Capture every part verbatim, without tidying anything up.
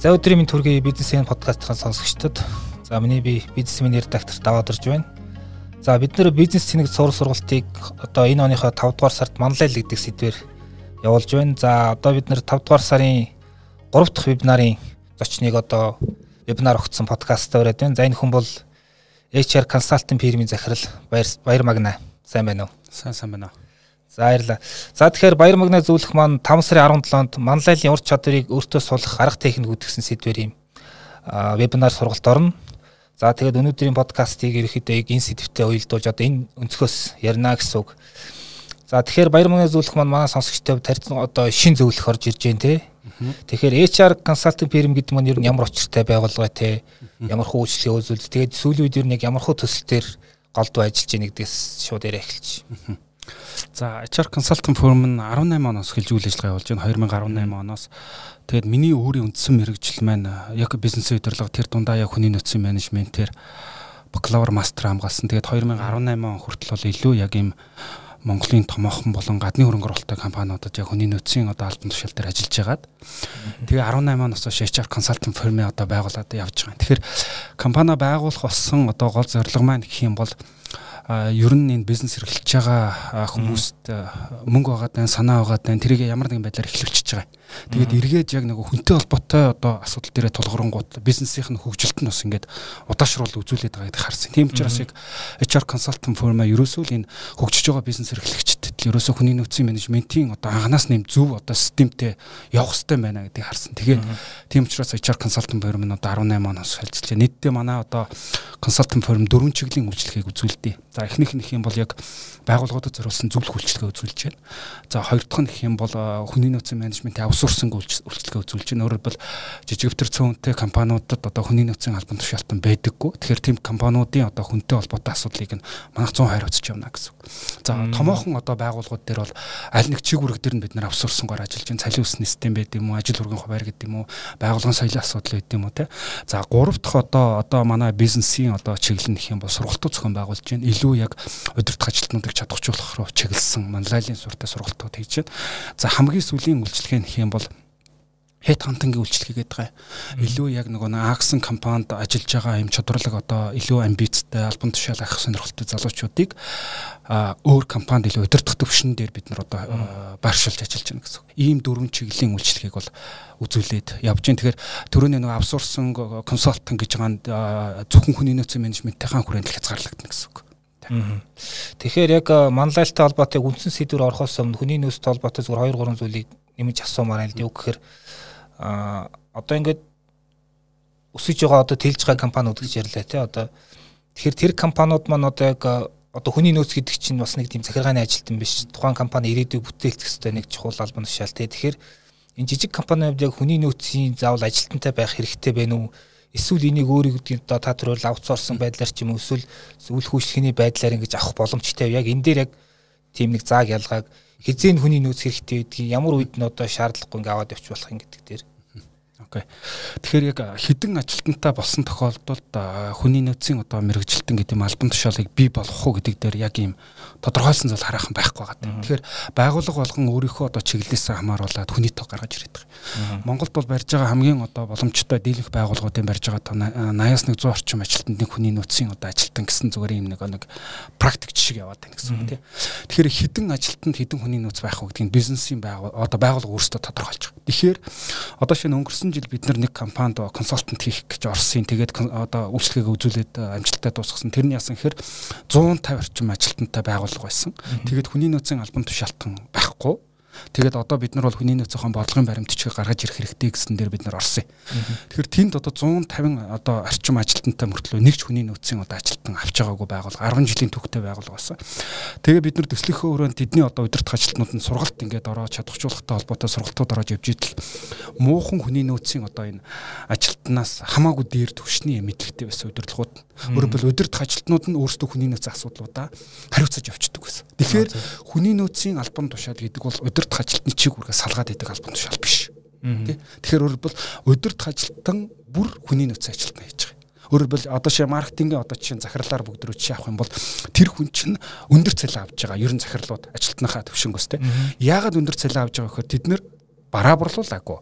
За өдрийн минь төргийн бизнесийн подкастын сонсогчдод за миний би бизнесмен редактор даваад ирж байна. За бид нэр бизнес цэник сур сургалтыг одоо энэ оныхоо тавд дугаар сард манлайл гэдэг сэдвээр явуулж байна. За одоо бид нэр тавд дугаар сарын гурав дахь вебинарын зочныг одоо вебинар өгсөн подкастаа ураад байна. За энэ хүн бол эйч ар консалтинг фирмийн захирал Баяр Баяр Магна. Сайн байна уу? Сайн сайн байна. За баярлалаа. За тэгэхээр Баяр Магна зөвлөх маань таван сарын арван долоонд манлайлын ур чадварыг өөртөө сулах арга техник үүдгсэн сэдвэр юм вебинар сургалт орно. За тэгээд өнөөдрийн подкастыг ерөөхдөө энэ сэдвтэй уялдуулж одоо энэ өнцгөөс ярина гэсэн үг. За тэгэхээр Баяр Магна зөвлөх маань манай сонсогчтой тарьсан одоо шин зөвлөх орж ирж байна те. Тэгэхээр эйч ар консалтинг фирм гэдэг маань ер нь ямар очиртай байгууллага те, ямар хөө үйлчлэгээ үзүүлдэг. Тэгээд сүүлийн үед ер нь яг ямар хөө төсөлтөөр голдуу ажиллаж байгаа нэгдээс шууд яриа эхэлж. За эйч ар консалтинг фирм нь арван найман оноос эхэлж үйл ажиллагаа явуулж байна. две тысячи десять оноос. Тэгээд миний өөрийн үндсэн мэргэжил маань яг бизнесийн удирдлага тэр дундаа яг хүний нөөцийн менежментээр бакалавр мастер хамгаалсан. Тэгээд две тысячи десять он хүртэл бол илүү яг ийм Монголын томоохон болон гадны хөрөнгө оруулалттай компаниудад яг хүний нөөцийн одоо албан тушаал дээр ажиллаж байгаад тэгээ десять оноос хойш эйч ар консалтинг фирмээ одоо байгуулад явж байгаа. Тэгэхээр компани байгуулах болсон одоо гол зорилго маань гэх юм бол ер нь энэ бизнес эрхэлж байгаа хүмүүст мөнгө байгаад байна, санаа байгаад байна. Тэрийг ямар нэгэн байдлаар эхлүүлчихэж байгаа. Тэгээд эргээд яг нэг хүнтэй холбоотой одоо асуудал дээрээ тулгуурлангууд бизнесийн хөгжилт нь бас ингээд удаашруулал үзүүлээд байгааг харсан. Тийм учраас яг эйч ар консалтинг фирмаа ерөөсөө л энэ хөгжиж байгаа бизнес эрхлэгчдэд ерөөсөө хүний нөөцийн менежментийн одоо анханаас нэм зөв одоо системтэй явах хэрэгтэй байна гэдгийг харсан. Тэгээд тийм учраас эйч ар консалтинг фирм нь одоо десять оноос ажиллаж байна. Нийтдээ манай одоо консалтинг фирм дөрвөн чиглэлийн үйлчлэгийг үзүүлдэг. За эхнийх нь гэх юм бол яг байгууллагуудад зориулсан зөвлөх үйлчлэгээ үзүүлж байна. За хоёр дахь нь гэх юм бол хүний нөөцийн менежментийн аутсорсинг үйлчлэгээ үзүүлж байна. Өөрөөр хэлбэл жижиг өвтөр цөөнтэй компаниудад одоо хүний нөөцийн албан тушаалтан байдаггүй. Тэгэхээр тийм компаниудын одоо хүнтэй холбоотой асуудлыг нь манайх цөөн хариуцж явна гэсэн. За томоохон одоо байгууллагууд дээр бол аль нэг чиг үүрэг дээр нь бид нар аутсорсингоор ажиллаж байна. Цалин усны систем байд юм уу, ажил хүргэн хуваар гэдэг юм уу, байгууллагын соёлын асуудал байд юм уу те. За гурав дахь одоо одоо манай бизнесийн одоо чиглэл нь гэх юм бол сургалтууд зохион байгуулж байна. Илүү яг удирдах ажилтнуудыг чадахжуулах руу чиглэсэн манлайлын суртаа сургалтууд хийж байна. За хамгийн сүүлийн үйлчлэгээ нэх юм бол хед хантингийн үйлчлэгээ гэдэг байгаа. Илүү яг нөгөө аксэн компанид ажиллаж байгаа юм чадварлаг одоо илүү амбицтай албан тушаал авах сонирхолтой залуучуудыг өөр компанид илүү удирдах төвшин дээр бид нар одоо байршуулж ажиллаж байна гэсэн. Ийм дөрвөн чиглэлийн үйлчлэгийг бол үзүүлээд явж байна. Тэгэхээр түрүүний нөгөө аутсорсинг консалтинг гэж байгаа зөвхөн хүний нөөцийн менежментийн хүрээнд л хязгаарлагдана гэсэн үг. Тэгэхээр яг манлайлалтай холбоотой үндсэн сэдвээр орохоос өмнө хүний нөөцтэй холбоотой зүгээр хоёр гурван зүйлийг нэмж асуумаар байна л дээ. Үг гэхээр а одоо ингээд өсөж байгаа одоо тэлж байгаа компаниуд гэж ярьлаа тий одоо тэгэхээр тэр компаниуд маань одоо яг одоо хүний нөөц гэдэг чинь бас нэг тийм захиргааны ажилтан биш тухайн компани ирээдүйг бүтээлцэх хэрэгтэй нэг чухал албан тушаал тий тэгэхээр энэ жижиг компаниуд яг хүний нөөцийн заавал ажилтантай байх хэрэгтэй байна уу эсвэл энийг өөрийг одоо та төрөл аутсорсон байдлаар ч юм уу эсвэл зөвлөх үйлчлэгээний байдлаар ингэж авах боломжтой яг энэ дээр яг тийм нэг зааг ялгааг хизээ хүний нөөц хэрэгтэй байдгийг ямар үед нь одоо шаардлагагүй ингээ аваад явчих болох юм гэдэг дээр. Окей. Тэгэхээр яг хідэн ажилтнтай болсон тохиолдолд хүний нөөцийн одоо мэрэгжилтэн гэдэг юм албан тушаалыг бий болгох уу гэдэг дээр яг ийм тодорхойлсон зүйл хараахан байхгүй байгаа. Тэгэхээр байгууллага болгон өөрийнхөө одоо чиглэлээс хамааруулаад хүний тоо гаргаж ирээд байгаа. Монголд бол барьж байгаа хамгийн одоо боломжтой дийлэнх байгууллагуудын барьж байгаа нааяас нэг зуун орчим ажилтнанд нэг хүний нөөцийн одоо ажилтан гэсэн зүгээр юм нэг нэг практик жишээ яваад байна гэсэн үг тийм. Тэгэхээр хідэн ажилтнанд хідэн хүний нөөц байх уу гэдэг нь бизнесийн байгууллага одоо байгууллага өөрсдөө тодорхойлж байгаа. Тэгэхээр одоо шинэ өнгөрсөн жил бид нар нэг компанид консалтант хийх гэж орсон. Тэгээд одоо үйлчлэгээ үзүүлээд амжилттай дуусгасан. Тэр нь яасан гэхээр зуун тавь орчим ажилтнтай байгууллага байсан. Тэгээд хүний нөөцийн албан тушаалтан байхгүй. Тэгээд одоо бид нар бол хүний нөөцийн бодлогын баримтчиг гаргаж ирэх хэрэгтэй гэсэн дээр бид нар орсон. Тэгэхээр тэнд одоо зуун тавин одоо орчим ажилтнтай мөртлөө нэг ч хүний нөөцийн одоо ажилтан авч байгаагүй байгууллага арван жилийн түүхтэй байгууллага байсан. Тэгээ бид нар төслийнхөө өрөөнд тэдний одоо удирдах ажилтнууд нь сургалт ингээд ороод чадахжуулахтай холбоотой сургалтууд ороод явж идэл муухан хүний нөөцийн одоо энэ ажилтнаас хамаагүй дээр төвшний мэдлэгтэй байсан удирдлагууд. Өөрөөр хэлбэл удирдах ажилтнууд нь өөрсдөө хүний нөөцийн асуудлуудаа хариуцаж явчихдаг байсан. Тэгэхээр хүний нөөцийн албан тушаал гэдэг бол удирдах ажилтны чиг үүргээ салгаад идэг албан тушаал биш. Тэ. Тэгэхээр өөрөөр хэлбэл удирдах ажилтан бүр хүний нөөцийн ажилтнаа хийж байгаа. Өөрөөр хэлбэл одоо ши маркетингийн одоо чинь захирлаар бүгд рүү чи авах юм бол тэр хүн чинь өндөр цалин авж байгаа. Ер нь захирлууд ажилтныхаа төвшингөөс тэ. Яагаад өндөр цалин авж байгаа гэхээр тэд нэр бараа борлуулаагүй.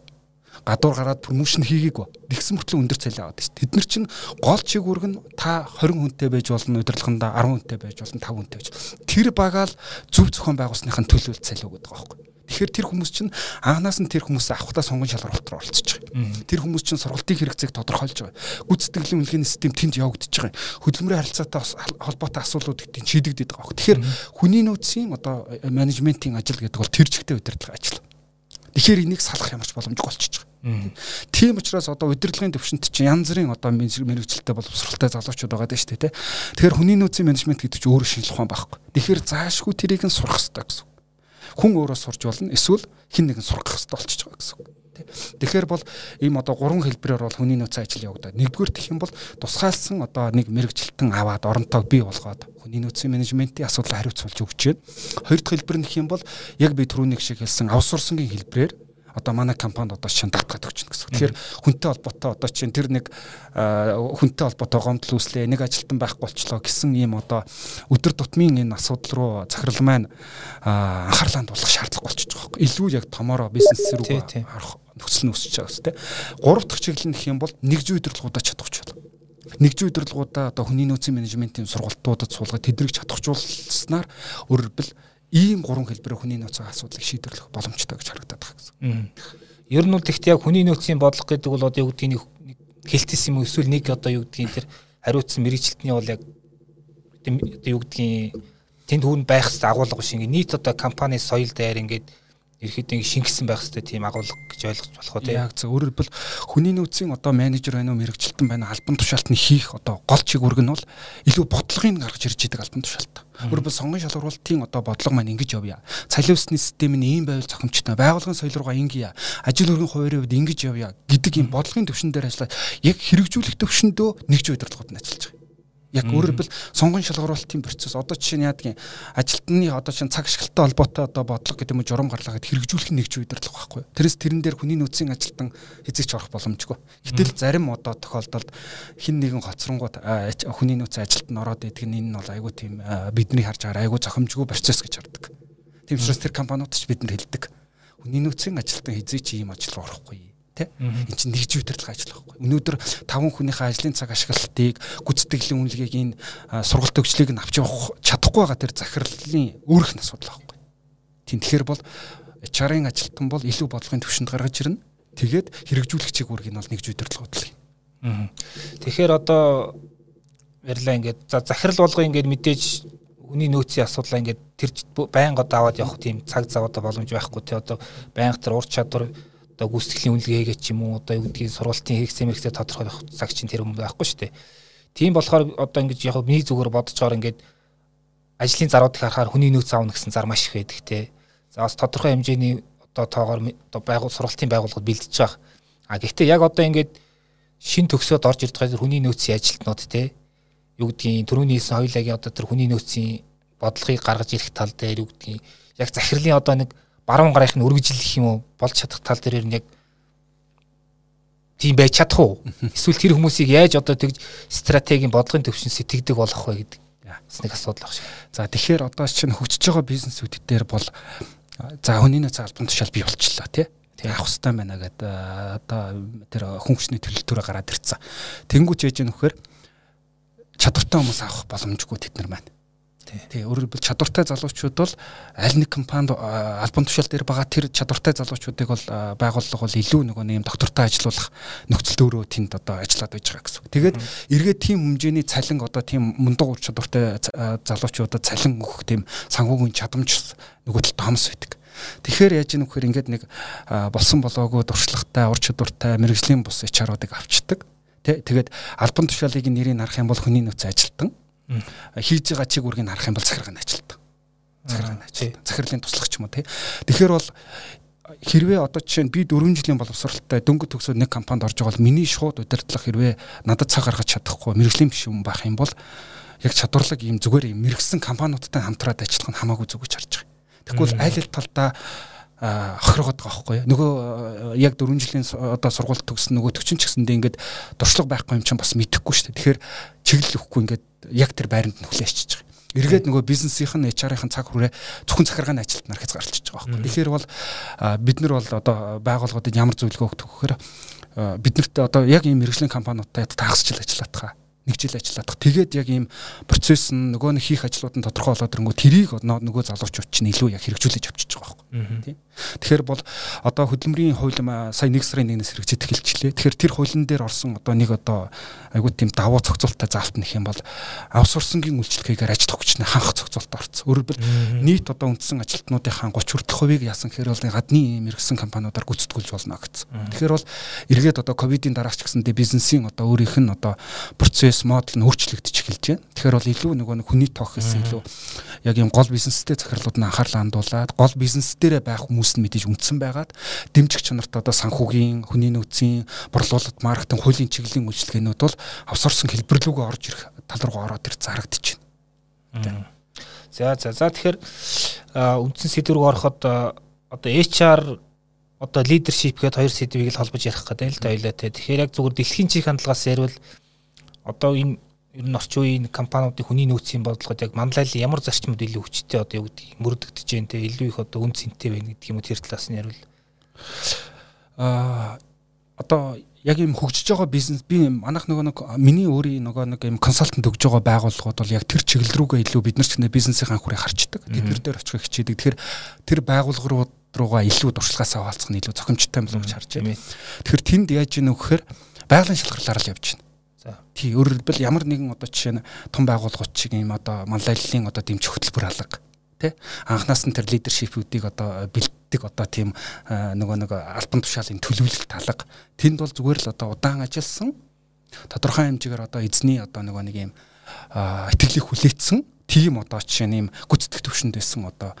гадуур гараад промошн хийгээгүй. Тэгсэн мөртлөө өндөр цалин аваад шүү дээ. Тэд нар чинь гол чигүүрг нь та хорин хүнтэй байж болно, удирдлаганда арван хүнтэй байж болно, таван хүнтэй байж. Тэр багаал зөв зохион байгуулсныхын төлөөлөл цалин өгöd байгаа байхгүй. Тэгэхээр тэр хүмүүс чинь анханаас нь тэр хүмүүсээ авахтаа сонгон шалралт руу оролцож байгаа. Тэр хүмүүс чинь сургалтын хэрэгцээг тодорхойлж байгаа. Гүйцэтгэлийн үнэлгээний систем тэнд явагдаж байгаа. Хөдөлмөрийн харилцаатай холбоотой асуудлууд гэдгийг шийдэгдээд байгаа. Тэгэхээр хүний нөөцийн одоо менежментийн ажил гэдэг бол тэр чигтээ удирдлага ажил. Тэгэхээр энийг салах ямарч боломжгүй болчихж байгаа. Тийм учраас одоо удирдлагын төвшөнт чинь янз бүрийн одоо мэрэгчлэлтэй боловсралтай залуучууд байгаа даа шүү дээ. Тэгэхээр хүний нөөцийн менежмент гэдэг чинь өөрөө шинжлэх ухаан байхгүй. Тэгэхээр заашгүй тэрийг нь сурах хэрэгтэй гэсэн. Хүн өөрөө сурж болно, эсвэл хин нэг нь сурах хэрэгтэй болчихж байгаа гэсэн. Тэгэхээр бол ийм одоо гурван хэлбэрээр бол хүний нөөцийн ажил явагдаад. Нэгдүгээр гэх юм бол тусгаалсан одоо нэг мэрэгчлэлтэн аваад оронтойг бий болгоод хүний нөөцийн менежментийн асуудлыг хариуцуулж өгч байна. Хоёр дахь хэлбэр нь гэх юм бол яг би түрүүний шиг хэлсэн аутсорсингийн хэлбэрээр одоо манай компанид одоо чинь давтгаад өгч байна гэсэн. Тэгэхээр хүнтэй холбоотой одоо чинь тэр нэг хүнтэй холбоотой гомдол үүслээ, нэг ажилтан байхгүй болчлоо гэсэн ийм одоо өдөр тутмын энэ асуудал руу захирал маань анхаарлаа хандуулах шаардлага болчихж байгаа байхгүй. Илүү яг томороо бизнес рүү харах нөхцөл нь үүсэж байгаа үстэй. Гурав дахь чиглэл нь гэх юм бол нэгжийн удирдлагуудаа чадахч байна. Нэгжийн удирдлагуудаа одоо хүний нөөцийн менежментийн сургалтуудад суулгаад тэдрийг чадахжуулснаар өөрөлдөл ийм гурван хэлбэрээр хүний нөөцийн асуудлыг шийдвэрлэх боломжтой гэж харагдаад байгаа гэсэн. Ер нь бол тэгтээ яг хүний нөөцийн бодлого гэдэг бол одоо юу гэдгийг хэлтээс юм уу эсвэл нэг одоо юу гэдгийг тэр хариуцсан мэрэгчлэлтний бол яг одоо юу гэдгийг тэнд хүүнд байх хэрэгтэй агуулга биш ингээд нийт одоо компани соёл даяар ингээд ерөөхдөө шингэсэн байх хэрэгтэй тийм агуулга гэж ойлгож болох уу тийм. Яг зөв. Өөрөөр хэлбэл хүний нөөцийн одоо менежер байна уу, мэрэгчлэлтэн байна, албан тушаалтны хийх одоо гол чигүүрг нь бол илүү бодлогыг гаргаж ирж идэг албан тушаалт. Өөрөөр хэлбэл сонгон шалгуулалтын одоо бодлого маань ингэж явъя. Цалин өсний систем нь ийм байвал зохимжтой, байгууллагын соёл руугаа ингэе, ажил өргөн хувийн хувьд ингэж явъя гэдэг ийм бодлогын төвшин дээр ажиллаад яг хэрэгжүүлэх төвшөндөө нэгж удирдлагууд нь ажиллаж байгаа. Яг өөрөөр хэлбэл сонгон шалгуулалтын процесс одоо жишээ нь яадгийн ажилтны одоо чинь цаг ашиглалтай холбоотой одоо бодлого гэдэг юм уу журам гарлаа гэд хэрэгжүүлэх нэгж удирдлага байхгүй. Тэрээс тэрэн дээр хүний нөөцийн ажилтан хязгаарч орох боломжгүй. Гэтэл зарим одоо тохиолдолд хин нэгэн хоцронгууд хүний нөөцийн ажилтан ороод идэг нь энэ нь бол айгүй тийм бидний харж байгаа айгүй зохимжгүй процесс гэж хардаг. Тийм учраас тэр компаниуд ч бид нар хэлдэг. Хүний нөөцийн ажилтан хязгаарч ийм ажил руу орохгүй. Энэ чинь нэгж удирдлага ажил байхгүй. Өнөөдөр таван хүнийхээ ажлын цаг ашиглалтыг, гүйцэтгэлийн үнэлгээг энэ сургалт төгслийг нь авч явах чадахгүй байгаа тэр захирлын өөрөх нь асуудал байхгүй. Тийм тэгэхээр бол эйч ар-ын ажилтан бол илүү бодлогын төвшөнд гаргаж ирнэ. Тэгээд хэрэгжүүлэх чиглэлийг нь бол нэгж удирдлага бодлого юм. Тэгэхээр одоо ярьлаа ингээд за захирал болгоо ингээд мэдээж хүний нөөцийн асуудлаа ингээд тэр байнга даваад явах тийм цаг зав одоо боломж байхгүй. Тэ одоо байнга тэр ур чадвар одоо гүйцэтгэлийн үнэлгээгээ ч юм уу одоо юу гэдгийг сургалтын хэрэгцээ мэрэгцээ тодорхойлох цаг чинь тэр юм байхгүй шүү дээ. Тийм болохоор одоо ингэж яг миний зүгээр бодож байгаа ингээд ажлын заруудыг харахаар хүний нөөц аавна гэсэн зар маш их байдаг те. За бас тодорхой хэмжээний одоо тоогоор одоо байгуул сургалтын байгууллагууд бэлдэж байгаа. А гэхдээ яг одоо ингээд шин төгсөөд орж ирж байгаа хүний нөөцийн ажилтнууд те юу гэдгийг түрүүний хэлсэн хоёулагийн одоо тэр хүний нөөцийн бодлогыг гаргаж ирэх тал дээр юу гэдгийг яг захирлын одоо нэг баруун гарынх нь үргэлжлэх юм уу болж чадах тал дээр нь яг тийм байж чадах уу? Эсвэл тэр хүмүүсийг яаж одоо тэгж стратегийн бодлогын төвшин сэтгэдэг болох вэ гэдэг бас нэг асуудал баг шиг. За тэгэхээр одоо чинь хөгжиж байгаа бизнесүүд дээр бол за хүний нөөцийн албан тушаал бий болчихлоо тий. Тэгээ авах хэрэгтэй байна гэдэг одоо тэр хүн хүчний төлөлтөөрөө гараад ирцэн. Тэнгүүч яаж яах вэ? Чадвартай хүмүүс авах боломжгүй тэд нар маань. Тий, өөрөөр хэлбэл чадвартай залуучууд бол аль нэг компанид албан тушаал дээр байгаа тэр чадвартай залуучуудыг бол байгууллага бол илүү нөгөө нэм доктортой ажиллуулах нөхцөл өөрөө тэнд одоо ажиллаад байж байгаа гэсэн. Тэгээд эргээд тийм хэмжээний цалин одоо тийм мундаг ур чадвартай залуучуудад цалин өгөх тийм санхүүгийн чадамж нөгөө талд хомс байдаг. Тэгэхээр яаж ийм вөхөр ингээд нэг болсон болоогүй дуршлагтай ур чадвартай мэрэгжлийн бус эйч ар-уудыг авчдаг. Тэ тэгээд албан тушаалыг нэрийг харах юм бол хүний нөөцийн ажилтан хийж байгаа чиг үүргийг харах юм бол захиргааны ажилтан. Захиргааны ажилтан. Захирлын туслагч юм уу тий. Тэгэхээр бол хэрвээ одоо жишээ нь би дөрвөн жилийн боловсралтай дөнгөж төгсөөд нэг компанид орж байгаа бол миний шууд удирдлага хэрвээ надад цаг гаргаж чадахгүй мэрэгжлийн биш юм байх юм бол яг чадварлаг ийм зүгээр ийм мэрэгсэн компаниудтай хамтраад ажиллах нь хамаагүй зүг гэж харж байгаа. Тэгвэл аль аль талдаа хохирогод байгаа байхгүй юу. Нөгөө яг дөрвөн жилийн одоо сургууль төгссөн нөгөө төгчин ч гэсэндээ ингээд дуршлаг байхгүй юм чинь бас мэдэхгүй шүү дээ. Тэгэхээр чиглэл өгөхгүй ингээд яг тэр байранд нь хүлээчихэж байгаа. Эргээд нөгөө бизнесийнх нь эйч ар-ийн цаг хүрээ зөвхөн захиргааны ажилтнаар хязгаарлаж байгаа байхгүй. Тэгэхээр бол бид нар бол одоо байгууллагуудад ямар зөвлөгөө өгдөг гэхээр бид нарт одоо яг ийм мэргэжлийн компаниудтай тагсчил ажиллаад байгаа. Нэг жил ажиллаад. Тэгээд яг ийм процесс нь нөгөө нэг хийх ажлууд нь тодорхой болоод ирэнгүү тэрийг нөгөө залуучууд чинь илүү яг хэрэгжүүлж авчиж байгаа байхгүй. Тийм. Тэгэхээр бол одоо хөдөлмөрийн хууль сая нэг сарын нэгнээс хэрэгжиж эхэлчихлээ. Тэгэхээр тэр хуулийн дээр орсон одоо нэг одоо айгуу тийм давуу зохицуулттай заалт нэх юм бол аутсорсингийн үйлчлэгээр ажил өгчнээ ханх зохицуулт орсон. Өөрөөр хэлбэл нийт одоо үндсэн ажилтнуудынхаа гуч хүртэлх хувийг яасан гэхээр бол гадны мэргэжсэн компаниудаар гүйцэтгүүлж болно гэсэн. Тэгэхээр бол эргээд одоо ковидын дараач гэсэндээ бизнесийн одоо өөрийнх нь одоо процесс модел нь өөрчлөгдөж эхэлж байна. Тэгэхээр бол илүү нөгөө нэг хүний тоох гэсэн илүү яг ийм гол бизнестэй захирлууд нь анхаарлаа хандуулад гол бизнес дээрээ байх хүмүүс нь мэдээж үндсэн байгаад дэмжих чанарт одоо санхүүгийн, хүний нөөцийн, борлуулалт, маркетинг, хуулийн чиглэлийн үйлчилгээнүүд бол авсорсон хэлбэр рүүгээ орж ирэх тал руу ороод ир зарагдаж байна. За за за тэгэхээр үндсэн сэдв рүү ороход одоо эйч ар одоо лидершип гэдэг хоёр сэдвийг л холбож ярих гэдэг л да ойлоо те. Тэгэхээр яг зүгээр дэлхийн чих хандлагаас ярил одоо энэ ер нь орчин үеийн компаниудын хүний нөөцийн бодлогод яг манлайлал ямар зарчмууд илүү хүчтэй одоо юу гэдэг мөрөгдөж जैन те илүү их одоо үн цэнтэй байна гэдэг юм уу тэр талаас нь ярил. Аа одоо яг ийм хөгжиж байгаа бизнес би манайх нөгөө нэг миний өөрийн нөгөө нэг ийм консалтант өгж байгаа байгууллагууд бол яг тэр чиглэл рүүгээ илүү бид нар ч нэ бизнесийн анхуурыг харчдаг. Тэднэр дээр очихыг хичээдэг. Тэгэхээр тэр байгууллагууд руугаа илүү дуршлагаасаа хаалцах нь илүү зохимжтой юм болов гэж харж байна. Тэгэхээр тэнд яаж ийнө гэхээр байгалийн шалгарлаар л явж байна. За тий өөрөөр хэлбэл ямар нэгэн одоо жишээ нь том байгууллагууд шиг ийм одоо манлайллын одоо дэмжих хөтөлбөр алга тий анхнаас нь тэр лидершипүүдийг одоо бэлддэг одоо тийм нөгөө нэг албан тушаалын төлөвлөлт алга тэнд бол зүгээр л одоо удаан ажилласан тодорхой хэмжээгээр одоо эзний одоо нөгөө нэг ийм итгэлийг хүлээсэн тийм одоо жишээ нь ийм гүйцэтгэх төвшөнд байсан одоо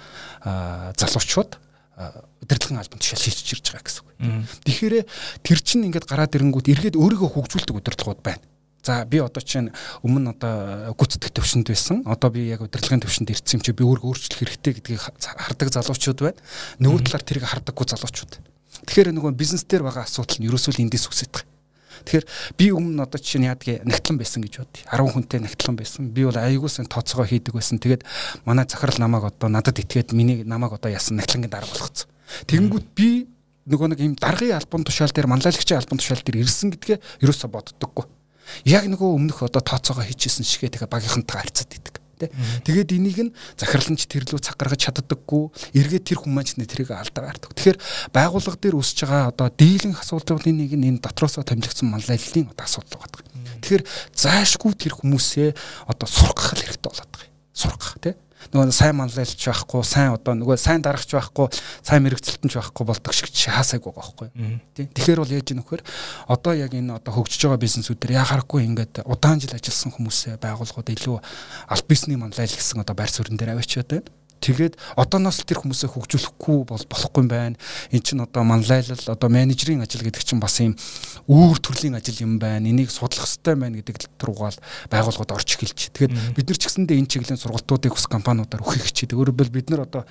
залуучууд удирдлагын албан тушаал шилжиж ирж байгаа гэсэн үг. Тэгэхээр тэр чинь ингээд гараад ирэнгүүт эргээд өөрийгөө хөгжүүлдэг удирдлагууд байна. За би одоо чинь өмнө одоо гүйцэтгэх төвшөнд байсан. Одоо би яг удирдлагын төвшөнд ирсэн юм чи би өөрийгөө өөрчлөх хэрэгтэй гэдгийг хардаг залуучууд байна. Нөгөө талаар тэрийг хардаггүй залуучууд. Тэгэхээр нөгөө бизнес дээр байгаа асуудал нь ерөөсөө л эндээс үсэж байгаа. Тэгэхээр би өмнө одоо чинь яадгийг нагтлан байсан гэж бодъё. арван хүнтэй нагтлан байсан. Би бол аягуулсан тооцоогоо хийдэг байсан. Тэгээд манай захирал намайг одоо надад итгээд миний намайг одоо яасан нагтлангийн дарга болгоцсон. Тэгэнгүүт би нөгөө нэг ийм даргын албан тушаал дээр манлайлагчийн албан тушаал дээр ирсэн гэдгээ ерөөсөө боддоггүй. Яг нөгөө өмнөх одоо тооцоогоо хийчихсэн шигээ тэгээ багийнхантайгаа харьцаад идэг. Тэгээд энийг нь захирланч тэрлүү цаг гаргаж чаддаггүй эргээд тэр хүмүүс нь тэрийг алдаа гардаг. Тэгэхээр байгууллага дээр үүсэж байгаа одоо дийлэнх асуудлуудын нэг нь энэ дотроосоо томилогдсон манлайллын одоо асуудал байдаг. Тэгэхээр заашгүй тэр хүмүүсээ одоо сургах хэрэгтэй болоод байгаа. Сургах тий. Нөгөө сайн манлайлч байхгүй, сайн одоо нөгөө сайн дарагч байхгүй, сайн мэрэгцэлтэнч байхгүй болдог шиг хаасайг байгаа байхгүй. Тий. Тэгэхээр бол яаж ийм нөхөр одоо яг энэ одоо хөгжиж байгаа бизнесүүдээр яхаарахгүй ингээд удаан жил ажилласан хүмүүсээ байгууллагууд илүү аль бизнесний манлайл гэсэн одоо байр суурин дээр аваачаад байна. Тэгээд одооноос тэр хүмүүсээ хөгжүүлэхгүй бол болохгүй юм байна. Энд чинь одоо манлайлал одоо менежерийн ажил гэдэг чинь бас ийм өөр төрлийн ажил юм байна. Энийг судлах хэрэгтэй байна гэдэг руугаал байгууллагууд орж эхэлж. Тэгээд бид нар ч гэсэндээ энэ чиглэлийн сургалтуудыг ус компаниудаар өгөх хичээдэг. Өөрөөр хэлбэл бид нар одоо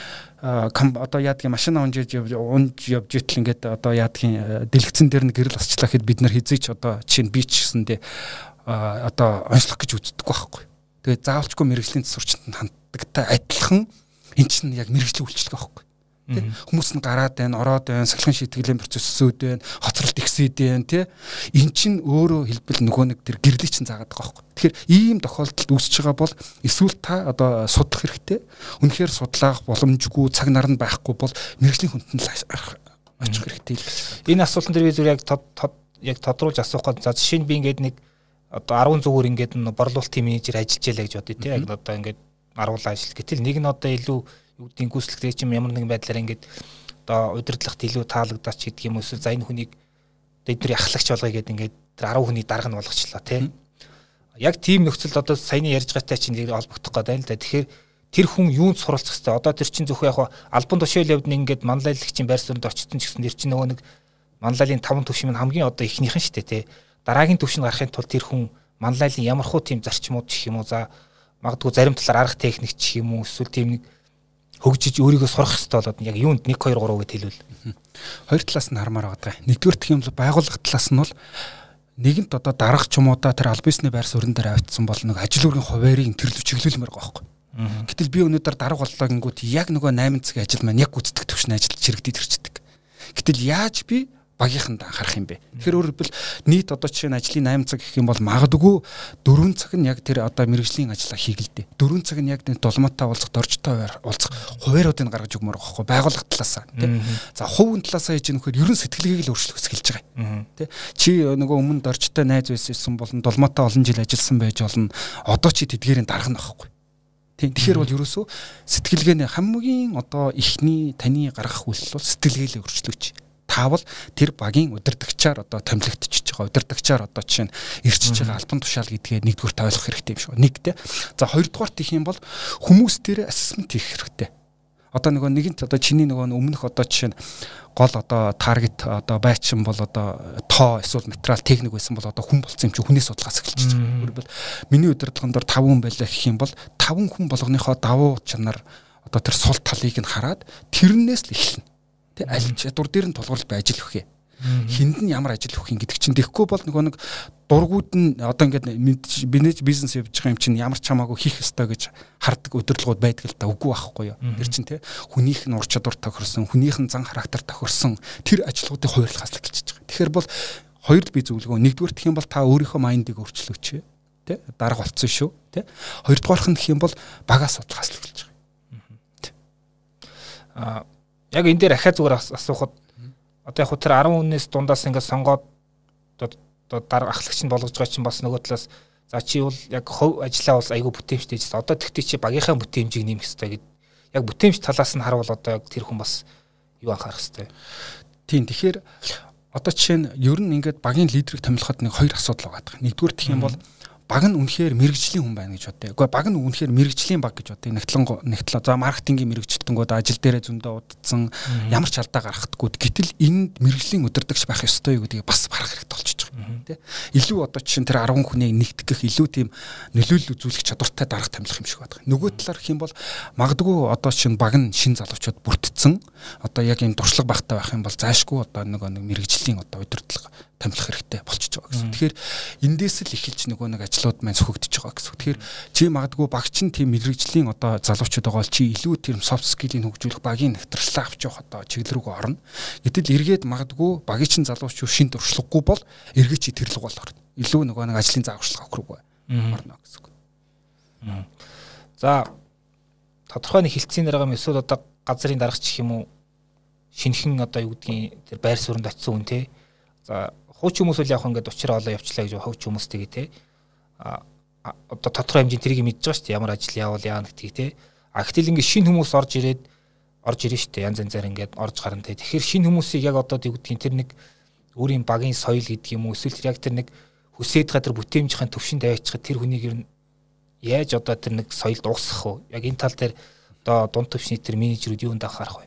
одоо яадгийн машина унжиж унж явж итэл ингээд одоо яадгийн дэлгэцэн дээр нь гэрэл асчлаа гэхэд бид нар хизээч одоо чинь би ч гэсэндээ одоо онцлох гэж үздэг байхгүй. Тэгээд заавалчгүй мэрэгжлийн засварчтанд ханддагтай адилхан эн чинь яг мэрэгжлийн үйлчлэг байхгүй. Тэ хүмүүс нь гараад байна, ороод байна, сахилгын шийтгэлийн процессүүд байна, хоцролт ихсээд байна, тэ. Эн чинь өөрөө хэлбэл нөгөө нэг тэр гэрлийг чинь заагаад байгаа байхгүй. Тэгэхээр ийм тохиолдолд үүсэж байгаа бол эсвэл та одоо судлах хэрэгтэй. Үнэхээр судлах боломжгүй, цаг нар нь байхгүй бол мэрэгжлийн хүнд нь очих хэрэгтэй л гэж. Энэ асуултан дээр би зүгээр яг яг тодруулж асуух гээд за жишээ нь би ингээд нэг одоо арван зүгээр ингээд борлуулалтын менежер ажиллаж ялаа гэж бодъё тий. Яг одоо ингээд аруулаа ажил. Гэтэл нэг нь одоо илүү юу гэдгийг гүйцэлгэрээ чим ямар нэгэн байдлаар ингээд одоо удирдлагт илүү таалагдаач гэдэг юм эсвэл за энэ хүнийг тэдний ахлагч болгоё гэдэг ингээд тэр арван хүний дарга нь болгочлаа тий. Яг тийм нөхцөлд одоо саяны ярьж байгаатай чинь олбогдох гэдэг л да. Тэгэхээр тэр хүн юунд суралцах хэвээр одоо тэр чинь зөвхөн яг албан тушаал явд нэг ингээд манлайлагчийн байр суурьнд очсон ч гэсэн тэр чинь нөгөө нэг манлайлалын таван төвшин хамгийн одоо ихнийхэн шүү дээ тий. Дараагийн төвшин гарахын тулд тэр хүн манлайлалын ямар хуу тийм зарчмууд гэх юм уу за магадгүй зарим талаар арга техник гэх юм уу эсвэл тийм нэг хөгжиж өөрийгөө сурах хэрэгтэй болоод яг юунд нэг хоёр гурав гэд хэлвэл хоёр талаас нь хармаар байгаа. Нэгдүгээр гэх юм бол байгууллага талаас нь бол нэгэнт одоо дарга ч юм уу та тэр аль бизнесний байр суурин дээр авчихсан бол нэг ажил үргийн хуваарийг тэрлүү чиглүүлмээр байгаа байхгүй. Гэтэл би өнөөдөр дарга боллоо гингүүт яг нөгөө восемь цагийн ажил маань яг гүйцэтгэх төвшин ажил чирэгдээд ирчдэг. Гэтэл яаж би багийнханд анхаарах юм бэ? Тэгэхээр өөрөөр хэлбэл нийт одоо жишээ нь ажлын восемь цаг гэх юм бол магадгүй дөрвөн цаг нь яг тэр одоо мэргэжлийн ажлаа хийх л дээ. дөрвөн цаг нь яг тэр дулмаатай уулзах, доржтой уулзах хувааруудыг гаргаж өгмөр байгаа байхгүй байгууллага талаасаа тийм. За хувийн талаасаа хийж нөхөр ерөн сэтгэлгээг л өөрчлөх хэлж байгаа. Тийм. Чи нөгөө өмнө доржтой найз байсан болон дулмаатай олон жил ажилласан байж болно. Одоо чи тэдгээрийн дарга нь байхгүй. Тийм. Тэгэхээр бол ерөөсөө сэтгэлгээний хамгийн одоо ихний таны гаргах үйлс бол сэтгэлгээлийн өөрчлөгч. Таавал тэр багийн удирдагчаар одоо томилогдчихж байгаа. Удирдагчаар одоо жишээ нь ирчиж байгаа альбан тушаал гэдгээ нэгдүгээр ойлгох хэрэгтэй юм шиг. Нэгтэй. За хоёрдугаар гэх юм бол хүмүүс дээр ассесмент хийх хэрэгтэй. Одоо нөгөө нэгэнт одоо чиний нөгөө өмнөх одоо жишээ нь гол одоо таргет одоо байчин бол одоо тоо эсвэл материал техник байсан бол одоо хүн болсон юм чи хүнээс судлахаас эхэлж байгаа. Өөрөлдвөл миний удирдлагын дор таван хүн байлаа гэх юм бол таван хүн болгоныхоо давуу чанар одоо тэр сул талыг нь хараад тэрнээс л эхэлнэ. Аль чадвар дээр нь тулгуурлаж бай ажил өгье. Хинд нь ямар ажил өгөх юм гэдэг чинь тэгэхгүй бол нөгөө нэг дургууд нь одоо ингээд бизнес бизнес явж байгаа юм чинь ямар ч хамаагүй хийх ёстой гэж хардаг удирдлагууд байдаг л да үгүй байхгүй юу. Тэр чинь те хүнийх нь ур чадвар тохирсон, хүнийх нь зан характер тохирсон тэр ажлуудыг хуваарлахаас л эхэлж байгаа. Тэгэхээр бол хоёрд би зөвлөгөө нэгдүгээр гэх юм бол та өөрийнхөө майндыг өөрчлөөч те дарга болцсон шүү те. Хоёрдугаарх нь гэх юм бол багаас судлахаас л эхэлж байгаа. Аа яг энэ дээр ахаа зүгээр асуухад одоо яг тэр десять хүнээс дундаас ингээд сонгоод одоо дарга ахлагч нь болгож байгаа чинь бас нөгөө талаас за чи бол яг хөв ажиллаа бол айгүй бүтээмжтэй гэж. Одоо тэгтээ чи багийнхаа бүтээмжийг нэмэх хэрэгтэй гэд. Яг бүтээмж талаас нь харуул одоо яг тэр хүн бас юу анхаарах хэрэгтэй. Тийм тэгэхээр одоо жишээ нь ер нь ингээд багийн лидерийг томилоход нэг хоёр асуудал байгаа. Нэгдүгээр гэх юм бол баг нь үнэхээр мэрэгжлийн хүн байна гэж бодъё. Гэхдээ баг нь үнэхээр мэрэгжлийн баг гэж бодъё. Нэгтлэн нэгтлээ. За маркетингийн мэрэгчлэлтэнгүүд ажил дээрээ зөндөө удацсан ямар ч алдаа гаргахдаггүй. Гэтэл энд мэрэгжлийн удирдагч байх ёстой юу гэдгийг бас харах хэрэгтэй болчихж байгаа. Тэ? Илүү одоо чинь тэр десять хүнийг нэгтгэх илүү тийм нөлөөлөл үзүүлэх чадвартай дарга томилох юм шиг байна. Нөгөө талаар гэх юм бол магадгүй одоо чинь баг нь шин залуучууд бүрдсэн. Одоо яг ийм дуршлаг багтаа байх юм бол заашгүй одоо нөгөө нэг мэрэгжлийн одоо удирдлага томилох хэрэгтэй болчихж байгаа гэсэн. Тэгэхээр эндээс л эхэлж нөгөө нэг ажлууд маань сөхөгдөж байгаа гэсэн. Тэгэхээр чи магадгүй багч нь тийм мэрэгжлийн одоо залуучууд байгаа бол чи илүү тийм soft skill-ийг хөгжүүлэх багийн нэвтрэлээ авч явах одоо чиглэл рүү орно. Гэтэл эргээд магадгүй багийн чин залуучууд шин туршлагагүй бол эргээд чи тэрлэг бол орно. Илүү нөгөө нэг ажлын зааварчилгаа өгөх рүү орно гэсэн. За тодорхой нэг хилцээний дарга юм эсвэл одоо газрын даргач гэх юм уу шинхэн одоо юу гэдгийг тэр байр суурьнд очисон хүн те. За хууч хүмүүс үл явах ингээд учраа олоо явчлаа гэж хууч хүмүүс тэгээ те. А одоо тодорхой хэмжээнд тэрийг мэдж байгаа шүү дээ. Ямар ажил явуул яа гэдгийг те. А гэтэл ингээд шинэ хүмүүс орж ирээд орж ирнэ шүү дээ. Янз янзаар ингээд орж гарна те. Тэгэхээр шинэ хүмүүсийг яг одоо юу гэдгийг тэр нэг өөрийн багийн соёл гэдэг юм уу эсвэл тэр яг тэр нэг хүсээд байгаа тэр бүтээмжийн төвшөнд аваачихад тэр хүнийг ер нь яаж одоо тэр нэг соёл дуусгах вэ? Яг энэ тал дээр одоо дунд төвшний тэр менежерүүд юунд анхаарах вэ?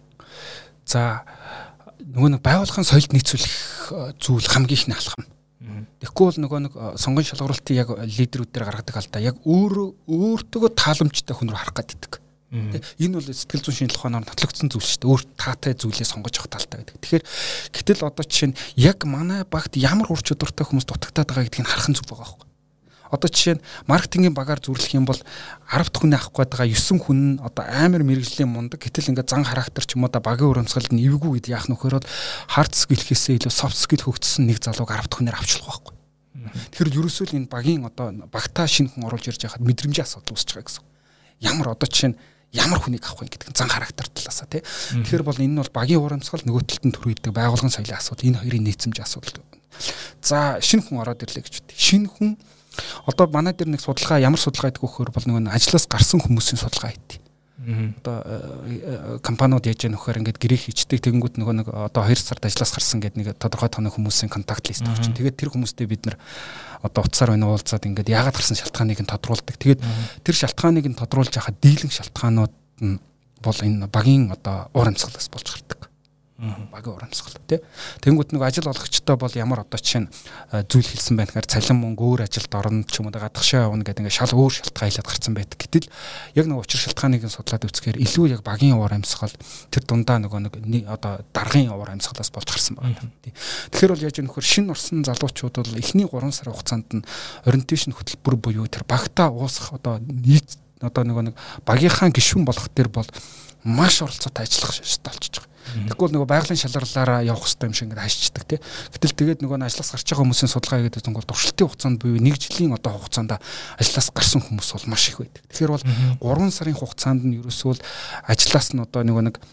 За нөгөө нэг байгууллагын соёлд нийцүүлэх зүйл хамгийн ихний алхам. Тэгэхгүй бол нөгөө нэг сонгон шалгуулалтын яг лидерүүд дээр гаргадаг алдаа яг өөр өөртөө тааламжтай хүн рүү харах гэдэг. Энэ бол сэтгэл зүйн шинжилгээ ухаанаар нотлогдсон зүйл шүү дээ. Өөр таатай зүйлээ сонгож авах талтай гэдэг. Тэгэхээр гэтэл одоо жишээ нь яг манай багт ямар ур чадвартай хүмүүс дутагтаад байгаа гэдгийг харах нь зүг байгаа байхгүй. Одоо жишээ нь маркетингийн багаар зүрлэх юм бол десять дахь хүнээ авах гэдэг девять хүн нь одоо амар мэрэгжлийн мундаг гэтэл ингээд зан характер ч юм уу да багийн урамсгалд нь эвгүй гэдэг яах нөхөр бол хард скиллхээсээ илүү софт скил хөгжсөн нэг залууг десять дахь хүнээр авчлах байхгүй. Тэгэхээр ерөөсөө л энэ багийн одоо багтаа шинэ хүн оруулж ирж байхад мэдрэмжийн асуудал үүсэж байгаа гэсэн. Ямар одоо жишээ нь ямар хүнийг авах вэ гэдэг зан характер талаасаа тий. Тэгэхээр бол энэ нь бол багийн урамсгал нөгөө талд нь төрүүлдэг байгуулгын соёлын асуудал энэ хоёрын нийцэмжийн асуудал. За шинэ хүн ороод ирлээ гэж үү. Шинэ хүн одоо манай дээр нэг судалгаа ямар судалгаа гэдэг вөхөр бол нөгөө ажлаас гарсан хүмүүсийн судалгаа хийдэг. Одоо компаниуд яаж яах вөхөр ингээд гэрээ хийчдэг тэгэнгүүт нөгөө нэг одоо хоёр сард ажлаас гарсан гэдэг нэг тодорхой тооны хүмүүсийн контакт лист авчин. Тэгээд тэр хүмүүстэй бид нар одоо утсаар байна уулзаад ингээд яагаад гарсан шалтгааныг нь тодруулдаг. Тэгээд тэр шалтгааныг нь тодруулж яхад дийлэнх шалтгаанууд нь бол энэ багийн одоо уур амьсгалаас болж гардаг. Багийн урамсгал тий. Тэнгүүд нэг ажил олгогчтой бол ямар одоо чинь зүйл хэлсэн байх гэхээр цалин мөнгө өөр ажилд орно ч юм уу гадагшаа явна гэдэг ингээ шал өөр шалтгаан хэлээд гарсан байдаг. Гэтэл яг нэг учир шалтгааныг судлаад үзэхээр илүү яг багийн урамсгал тэр дундаа нөгөө нэг одоо даргын урамсгалаас болж гарсан байна. Тэгэхээр бол яаж юм нөхөр шинэ орсон залуучууд бол эхний гурван сарын хугацаанд нь ориентейшн хөтөлбөр буюу тэр багтаа уусах одоо нийт одоо нөгөө нэг багийнхаа гишүүн болох төр бол маш оролцоотой ажиллах шалтгаан болчихж байгаа. Тэгвэл нөгөө байгалийн шалгарлаараа явах хэрэгтэй юм шиг ингээд хашчдаг тий. Гэтэл тэгээд нөгөө нь ажлаас гарч байгаа хүмүүсийн судалгаа гэдэг нь бол туршилтын хугацаанд буюу нэг жилийн одоо хугацаанд ажлаас гарсан хүмүүс бол маш их байдаг. Тэгэхээр бол гурван сарын хугацаанд нь ерөөсөө ажлаас нь одоо нөгөө нэг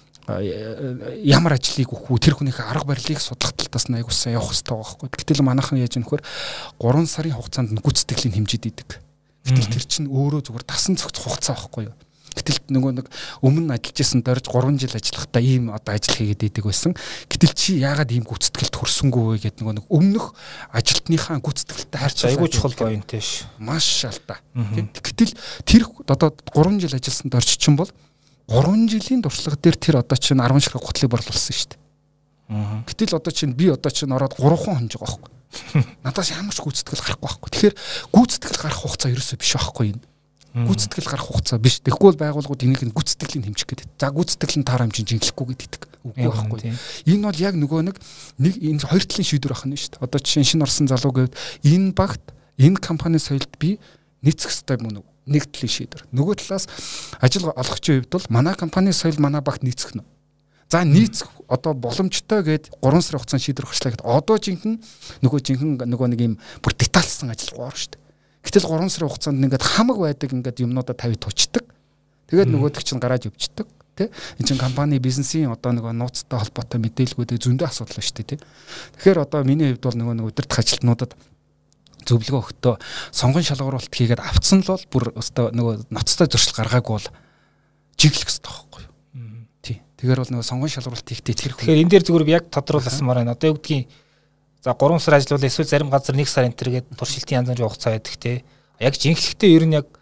ямар ажлыг өгөх үү тэр хүнийхээ арга барилыг судлах талаас нь аягүй сайн явах хэрэгтэй байгаа байхгүй. Гэтэл манайхан яаж юм нөхөр гурван сарын хугацаанд нь гүйцэтгэлийн хэмжээд идэг. Гэтэл тэр чинь өөрөө зүгээр дасан цогц хугацаа байхгүй юу. Гэтэл нөгөө нэг өмнө ажиллаж исэн дорж гурван жил ажиллахдаа ийм одоо ажил хийгээд идэг байсан. Гэтэл чи яагаад ийм гүйцэтгэлд хүрсэнгүй вэ гэдэг нөгөө нэг өмнөх ажилтныхаа гүйцэтгэлтэй харьцуулах айгүй чухал point ш. Маш алдаа. Гэтэл тэр одоо гурван жил ажилласан дорж чинь бол гурван жилийн туршлага дээр тэр одоо чинь арван ширхэг гутлыг борлуулсан шүү дээ. Гэтэл одоо чинь би одоо чинь ороод гурван хонж байгаа байхгүй. Надаас ямар ч гүйцэтгэл гарахгүй байхгүй. Тэгэхээр гүйцэтгэл гарах хугацаа ерөөсөө биш байхгүй энэ. Гүйцэтгэл гарах хугацаа биш. Тэгэхгүй бол байгууллагууд энийг нь гүйцэтгэлийн хэмжих гэдэг. За гүйцэтгэл нь таар хэмжин жинхлэхгүй гэдэг. Үгүй байхгүй. Энэ бол яг нөгөө нэг нэг энэ хоёр талын шийдвэр ахна шүү дээ. Одоо жишээ нь шинэ орсон залуу гэвэл энэ багт энэ компани соёлд би нийцэх ёстой мөн үү? Нэг талын шийдвэр. Нөгөө талаас ажил олгогчийн хувьд бол манай компани соёл манай багт нийцэх нь. За нийцэх одоо боломжтой гээд гурван сарын хугацаанд шийдвэр гарчлаа гэхэд одоо жинхэнэ нөгөө жинхэнэ нөгөө нэг юм бүр детальсан ажил гоор шүү дээ. Гэтэл гурван сарын хугацаанд ингээд хамаг байдаг ингээд юмнуудаа тавь туучдаг. Тэгээд нөгөөдөг чинь гараад өвчдөг. Тэ? Энд чинь компани бизнесийн одоо нөгөө нууцтай холбоотой мэдээлгүүдээ зөндөө асуудал байна шүү дээ. Тэ? Тэгэхээр одоо миний хувьд бол нөгөө нэг удирдах ажилтнуудад зөвлөгөө өгтөө сонгон шалгуулалт хийгээд авцсан л бол бүр өстой нөгөө ноцтой зуршил гаргаагүй бол жиглэх хэрэгтэй байхгүй юу? Тий. Тэгэхээр бол нөгөө сонгон шалгуулалт хийхдээ итгэх. Тэгэхээр энэ дээр зүгээр яг тодруулсанмаар байна. Одоо юу гэдгийг за гурван сар ажиллавал эсвэл зарим газар нэг сар энтергээд туршилтын янз бүрийн хугацаа байдаг те. Яг жинхлэхдээ ер нь яг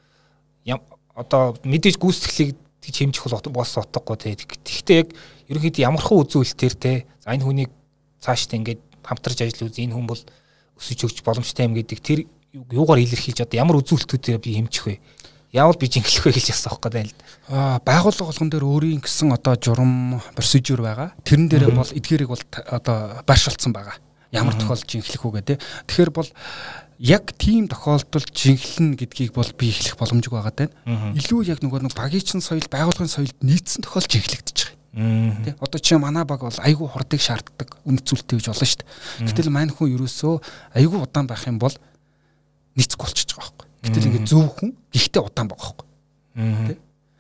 одоо мэдээж гүйцэтгэлийг хэмжих бол бос утгагүй те. Тэгэхдээ яг ерөнхийдөө ямархан үзүүлэлтээр те. За энэ хүнийг цаашдаа ингээд хамтарч ажил үз энэ хүн бол өсөж өгч боломжтой юм гэдэг тэр юугаар илэрхийлж одоо ямар үзүүлэлтүүдээр би хэмжих вэ? Яавал би жинхлэх вэ гэж асуух гэдэг юм л. Аа байгууллага болгон дээр өөрийн гэсэн одоо журам процедур байгаа. Тэрэн дээрээ бол эдгээрийг бол одоо байршуулсан байгаа. Ямар тохиолдолд жинхлэх үү гэдэг. Тэгэхээр бол яг тийм тохиолдолд жинхлэн гэдгийг бол би эхлэх боломжгүй байгаа тань. Илүү яг нөгөө нэг багийн чин соёл байгууллагын соёлд нийцсэн тохиолдолд жинхлэгдэж байгаа. Тэ одоо чи манай баг бол айгүй хурдыг шаарддаг үнэт зүйлтэй гэж болно шүү дээ. Гэтэл мань хүн ерөөсөө айгүй удаан байх юм бол нийцэхгүй болчихж байгаа байхгүй. Гэтэл ингээд зөв хүн гэхдээ удаан байгаа байхгүй. Тэ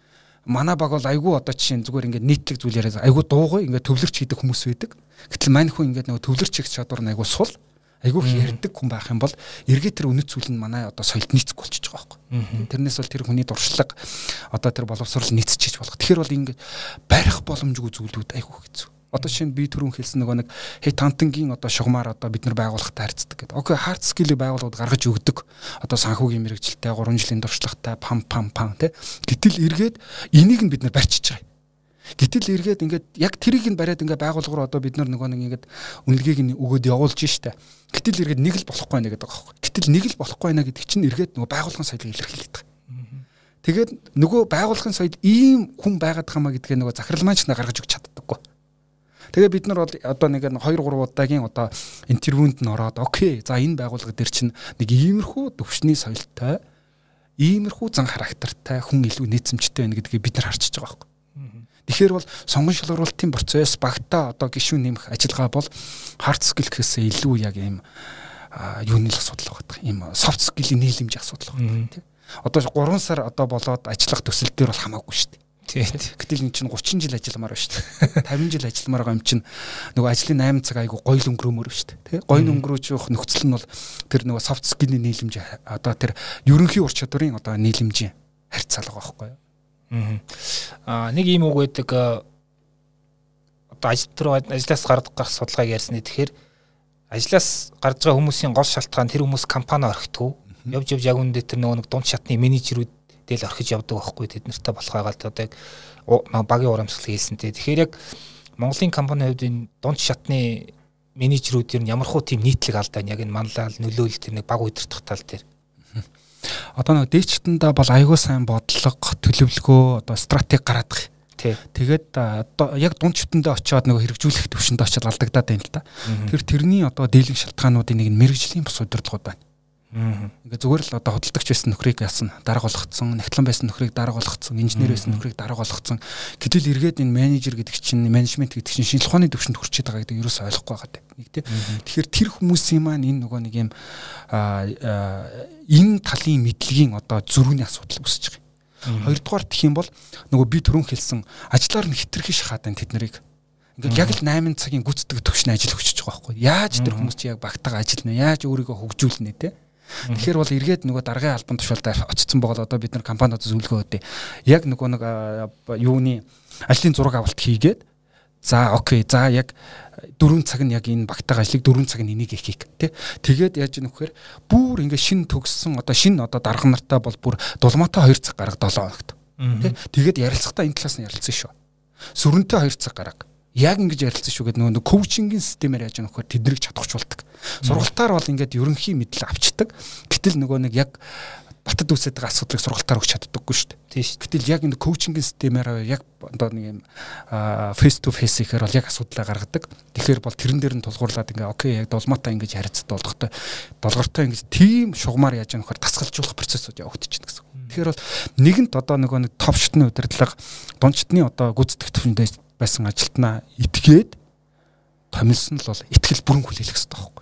манай баг бол айгүй одоо чинь зүгээр ингээд нийтлэг зүйл яриад айгүй дуугүй ингээд төвлөрч хийдэг хүмүүс байдаг. Гэтэл мань хүн ингээд нөгөө төвлөрч хийх чадвар нь айгүй сул айгүй ярьдаг хүн байх юм бол эргээд тэр үнэт зүйл нь манай одоо соёлд нийцэхгүй болчихж байгаа байхгүй. Тэрнээс бол тэр хүний дуршлаг одоо тэр боловсрол нийцчихэж болох. Тэгэхээр бол ингээд барих боломжгүй зүйлүүд айгүй хэцүү. Одоо шинэ би түрүүн хэлсэн нөгөө нэг хей тантангийн одоо шугамар одоо бид нар байгууллагатай харьцдаг гэдэг. Окей, хард скилийг байгууллагууд гаргаж өгдөг. Одоо санхүүгийн мэрэгжилтэй гурван жилийн туршлагатай пам пам пам тэ. Гэтэл эргээд энийг нь бид нар барьчихж байгаа. Гэтэл эргээд ингээд яг тэрийг нь бариад ингээд байгууллага руу одоо бид нар нөгөө нэг ингээд үнэлгээг нь өгөөд явуулж штэ. Гэтэл эргээд нэг л болохгүй байна гэдэг байгаа байхгүй. Гэтэл нэг л болохгүй байна гэдэг чинь эргээд нөгөө байгууллагын соёлыг илэрхийлээд байгаа. Тэгээд нөгөө байгууллагын соёл ийм хүн байгаад хамаа гэдгээ нөгөө захирал маань ч гаргаж өгч чаддаггүй. Тэгээ бид нар бол одоо нэг хоёр гурван удаагийн одоо интервьюнд нь ороод окей за энэ байгууллага дээр чинь нэг иймэрхүү төвшний соёлтой иймэрхүү зан характертай хүн илүү нийцэмжтэй байна гэдгийг бид нар харчиж байгаа байхгүй. Тэгэхээр бол сонгон шалгуулалтын процесс багтаа одоо гишүүн нэмэх ажиллагаа бол hard skill гэхээсээ илүү яг ийм юуны асуудал байгаа юм soft skill-ийн нийлэмж асуудал байгаа тийм. Одоо гурван сар одоо болоод ажиллах төсөл дээр бол хамаагүй шүү дээ. Гэтэл энэ чинь гучин жил ажилламаар байна шүү дээ. тавин жил ажилламаар байгаа юм чинь нөгөө ажлын eight цаг айгу гоё л өнгөрөөмөр шүү дээ. Тэ? Гоё өнгөрөөж явах нөхцөл нь бол тэр нөгөө soft skill-ийн нийлэмж одоо тэр ерөнхий ур чадварын одоо нийлэмжийн харьцаалга байхгүй юу? Аа нэг юм үг байдаг одоо ажил руу ажлаас гарах судалгааг ярьсны тэгэхээр ажлаас гарч байгаа хүмүүсийн гол шалтгаан тэр хүмүүс компани орхитгүй. Явж явж яг үндэ тэр нөгөө нэг дунд шатны менежерүүд тэл орхиж явдаг байхгүй тэд нартай болохоо гал одоо яг багийн урамсгал хийлсэнтэй. Тэгэхээр яг Монголын компанийн хувьд энэ дунд шатны менежерүүд ер нь ямархуу тийм нийтлэг алдаа яг энэ манлал нөлөөлөл тэр нэг баг удирдах тал дээр. Одоо нэг дээчтэндээ бол аягүй сайн бодлого, төлөвлөгөө, одоо стратеги гаргадаг. Тэгээд одоо яг дунд шатндээ очиод нэг хэрэгжүүлэх төвшөнд очиод алдагдаад байна л да. Тэр тэрний одоо дийлэнх шалтгаануудын нэг нь мэрэгжлийн бус удирдлагууд байна. Ингээ зүгээр л одоо хөдөлгөгч байсан нөхрийг ясна дарга болгоцсон, нягтлан байсан нөхрийг дарга болгоцсон, инженер байсан нөхрийг дарга болгоцсон. Гэтэл эргээд энэ менежер гэдэг чинь, менежмент гэдэг чинь шинжилгээ ухааны төвшөнд хүрчээд байгаа гэдэг ерөөсөй ойлгохгүй байгаа нэг тийм. Тэгэхээр тэр хүмүүсийн маань энэ нөгөө нэг юм энэ талын мэдлэгийн одоо зөрүүний асуудал үүсэж байгаа. Хоёрдугаар гэх юм бол нөгөө би түрүүн хэлсэн ажлаар нь хитрхи шахаад байна тэд нарыг. Ингээд яг л восемь цагийн гүйцэтгэх төвшин ажил өгчөж байгаа байхгүй. Яаж тэр хүмүүс чи яг багтаага ажиллана, яаж өөрийгөө хөгжүүлнэ те. Тэгэхээр бол эргээд нөгөө даргын албан тушаалд очсон байгаа л одоо бид нар компаниуд зөвлөгөө өгдөө. Яг нөгөө нэг юуны ажлын зураг авалт хийгээд за окей, за яг дөрвөн цаг нь яг энэ багтаага ажлыг дөрвөн цаг нь энийг хийх тий. Тэгээд яаж юм вэхээр бүр ингээд шин төгссөн одоо шин одоо дарга нартаа бол бүр дулмаатай хоёр цаг гарга долоо хоногт. Тий. Тэгээд ярилцахтаа энэ талаас нь ярилцсан шүү. Сүрэнтэй хоёр цаг гарга. Яг ингэж ярилцсан шүү гэдэг нөгөө коучингийн системээр яаж нөхөр тэднийг чадахчулдаг. Сургалтаар бол ингээд ерөнхий мэдл авчдаг. Гэтэл нөгөө нэг яг батад үүсэж байгаа асуудлыг сургалтаар өгч чаддаггүй шүү дээ. Тийм шүү. Гэтэл яг энэ коучингийн системээр яг одоо нэг юм фейс ту фейс ихээр бол яг асуудлаа гаргадаг. Тэгэхээр бол тэрэн дээр нь тулгуурлаад ингээ окей яг долмаатай ингэж харилцаад болгохтой долгортой ингэж тийм шугамар яаж нөхөр тасгалжуулах процессыг явагдчихна гэсэн. Тэгэхээр бол нэгэнт одоо нөгөө нэг топ шатны удирдлага дундчтны одоо гүйцэтгэх төвшөндөө байсан ажилтнаа итгээд томилсон л бол итгэл бүрэн хүлээлгэх хэрэгтэй байхгүй.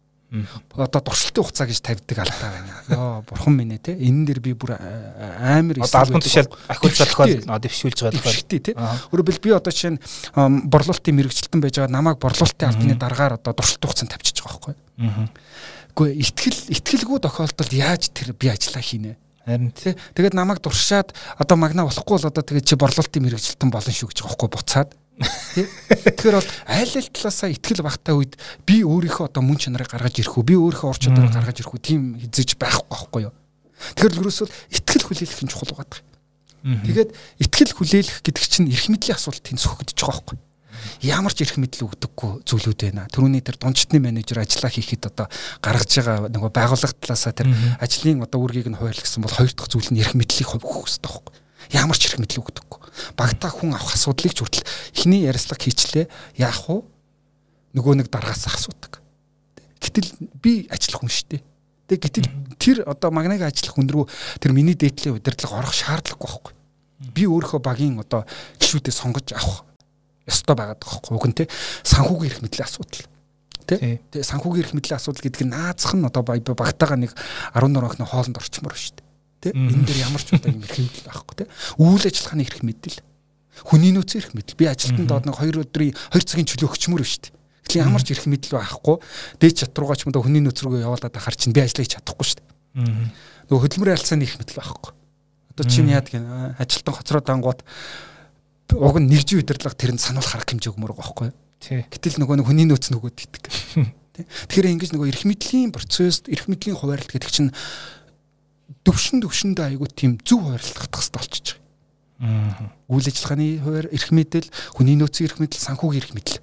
Одоо туршилтын хугацаа гэж тавьдаг алдаа байна. Йоо бурхан минь ээ те. Энэ дэр би бүр амар одоо албан тушаал ахиулж тохиол дэвшүүлж байгаа тохиол тий. Өөрөөр би одоо жишээ нь борлуулалтын мэрэгчлэлтэн байж байгаа намайг борлуулалтын албаны дараагаар одоо туршилтын хугацаанд тавьчихж байгаа байхгүй. Гэхдээ итгэл итгэлгүй тохиолдолд яаж тэр би ажиллаа хийнэ. Харин тий. Тэгээд намайг дуршаад одоо магна болохгүй бол одоо тэгээд чи борлуулалтын мэрэгчлэлтэн болно шүү гэж байгаа байхгүй буцаад. Тий. Тэгэхээр бол айл ал талаасаа итгэл багтаа үед би өөрийнхөө одоо мөн чанарыг гаргаж ирэх үү, би өөрийнхөө ур чадварыг гаргаж ирэх үү тийм хизэж байхгүй байхгүй юу. Тэгэхээр л ерөөсөө итгэл хүлээлгэх нь чухал байгаа. Тэгээд итгэл хүлээлгэх гэдэг чинь эрх мэдлийн асуулт тэнцвэрхэгдэж байгаа байхгүй. Ямар ч эрх мэдэл өгдөггүй зүйлүүд байна. Төрөний тэр дундчтны менежер ажиллаа хийхэд одоо гаргаж байгаа нөгөө байгууллага талаасаа тэр ажлын одоо үүргийг нь хуваарлагдсан бол хоёр дахь зүйл нь эрх мэдлийг хөвгөх хэрэгтэй байхгүй. Ямар ч эрх мэдэл өгдөггүй. Багтаа хүн авах асуудлыг ч хүртэл эхний ярилцлага хийчлээ яах вэ? Нөгөө нэг дараагаас асуудаг. Гэтэл би ажиллах хүн шүү дээ. Тэг гэтэл тэр одоо магныг ажиллах хүн рүү тэр миний дээдлийн удирдлага орох шаардлагагүй байхгүй. Би өөрийнхөө багийн одоо гишүүдээ сонгож авах ёстой байгаад байгаа байхгүй. Уг нь те санхүүгийн эрх мэдлийн асуудал. Тэ? Тэ санхүүгийн эрх мэдлийн асуудал гэдэг нь наазах нь одоо багтаага нэг арван дөрвөн охины хоолнд орчмоор шүү дээ. Тэ? Энэ дээр ямар ч удаа юм эрх мэдэл байхгүй те. Үйл ажиллагааны эрх мэдэл. Хүний нөөцийн эрх мэдэл. Би ажилтнанд доод нэг хоёр өдрийн хоёр цагийн чөлөө өгчмөр шүү дээ. Тэгэхээр ямар ч эрх мэдэл байхгүй. Дээд чатруугаа ч юм да хүний нөөц рүүгээ явуулаад ахаар чинь би ажиллаж чадахгүй шүү дээ. Нөгөө хөдөлмөрийн харилцааны эрх мэдэл байхгүй. Одоо чинь яадаг юм ажилтан хоцроод ангууд уг нь нэгжийн удирдлага тэрэнд сануулах арга хэмжээ өгмөр байгаа байхгүй. Гэтэл нөгөө нэг хүний нөөц нөгөөд итдэг. Тэгэхээр ингэж нөгөө эрх мэдлийн процесс, эрх мэдлийн хуваарлт гэдэг чинь төвшин төвшөндөө айгуу тийм зөв хуваарлах хэрэгтэй болчихж байгаа. Үйл ажиллагааны хуваар эрх мэдэл, хүний нөөцийн эрх мэдэл, санхүүгийн эрх мэдэл.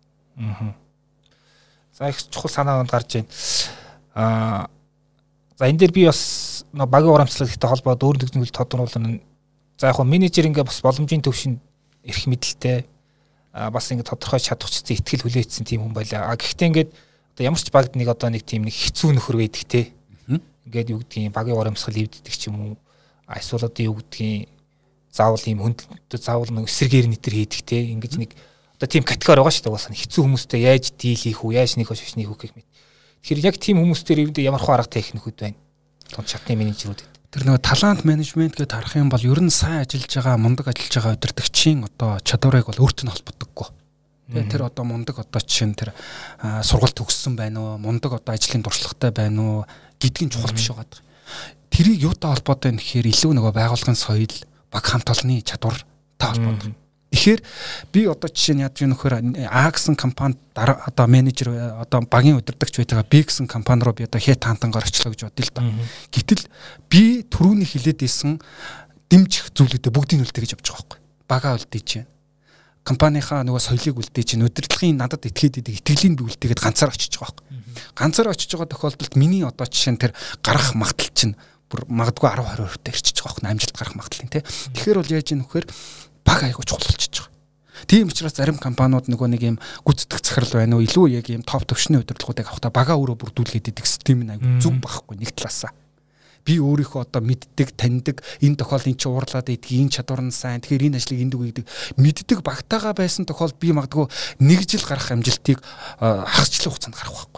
За их чухал санаанд гарч байна. Аа за энэ дээр би бас багийн урамцлагтай холбоод өөр нэгэн зүйл тодруулна. За яг хөө менежер ингээ бас боломжийн төвшин эрх мэдэлтэй бас ингээ тодорхой чадварчсан ихтгэл хүлээсэн тийм хүн байлаа. А гэхдээ ингээд одоо ямар ч багт нэг одоо нэг тийм нэг хэцүү нөхөр байдаг те. Ингээд юу гэдгийг багийн урамсгал эвддэг ч юм уу. Эсвэл одоо юу гэдгийг заавал ийм хүнд заавал нэг эсэргээр нэтер хийдэг те. Ингээд нэг одоо тийм категори байгаа шүү дээ. Уусаа хэцүү хүмүүстэй яаж дийл хийх үү, яаж нэг шашныг хөөх гэх мэт. Тэгэхээр яг тийм хүмүүстээр эвдээ ямар хөө арга техникүүд байна. Тон шатны менежерүүд. Тэр нөгөө талант менежмент гэдээ харах юм бол ер нь сайн ажиллаж байгаа, мундаг ажиллаж байгаа удирдагчийн одоо чадварыг бол өөртөө нь холбодоггүй. Тэгээ тэр одоо мундаг одоо чинь тэр сургалт төгссөн байна уу, мундаг одоо ажлын туршлагатай байна уу гэдгийг чухал биш байгаа. Тэрийг юутай холбоотой вэ гэхээр илүү нөгөө байгууллагын соёл, баг хамт олонны чадвар та холбоотой. Тэгэхээр би одоо жишээ нь яаж юм нөхөр А гэсэн компанид одоо менежер одоо багийн удирдагч байтайгаа Б гэсэн компани руу би одоо хэ таантангаар очлоо гэж бодъё л да. Гэтэл би түрүүний хилээд исэн дэмжих зүйлүүдээ бүгдийг үлдээх гэж явж байгаа байхгүй. Бага үлдээж байна. компанийнхаа нөгөө соёлыг үлдээж чинь удирдлагын надад этгээд идэг итгэлийн би үлдээгээд ганцаар очиж байгаа байхгүй. Ганцаар очиж байгаа тохиолдолд миний одоо жишээ нь тэр гарах магадлал чинь бүр магадгүй десять тwenty percent ирчихэж байгаа байхгүй амжилт гарах магадлал тий. Тэгэхээр бол яаж ийм вэхээр баг айгуу чухал болчихж байгаа. Тийм учраас зарим компаниуд нөгөө нэг юм гүйцэтгэх захирал байна уу илүү яг ийм топ төвшний удирдлагуудыг авахдаа багаа өөрөө бүрдүүлгээд идэг систем нь айгуу зүг байхгүй нэг талаасаа. Би өөрийнхөө одоо мэддэг, таньдаг, энэ тохиол энэ чи уурлаад идэх, энэ чадвар нь сайн. Тэгэхээр энэ ажлыг энд үгийдэг. Мэддэг багтаага байсан тохиол би магадгүй нэг жил гарах амжилтыг хагасчлах хугацаанд гарах байхгүй.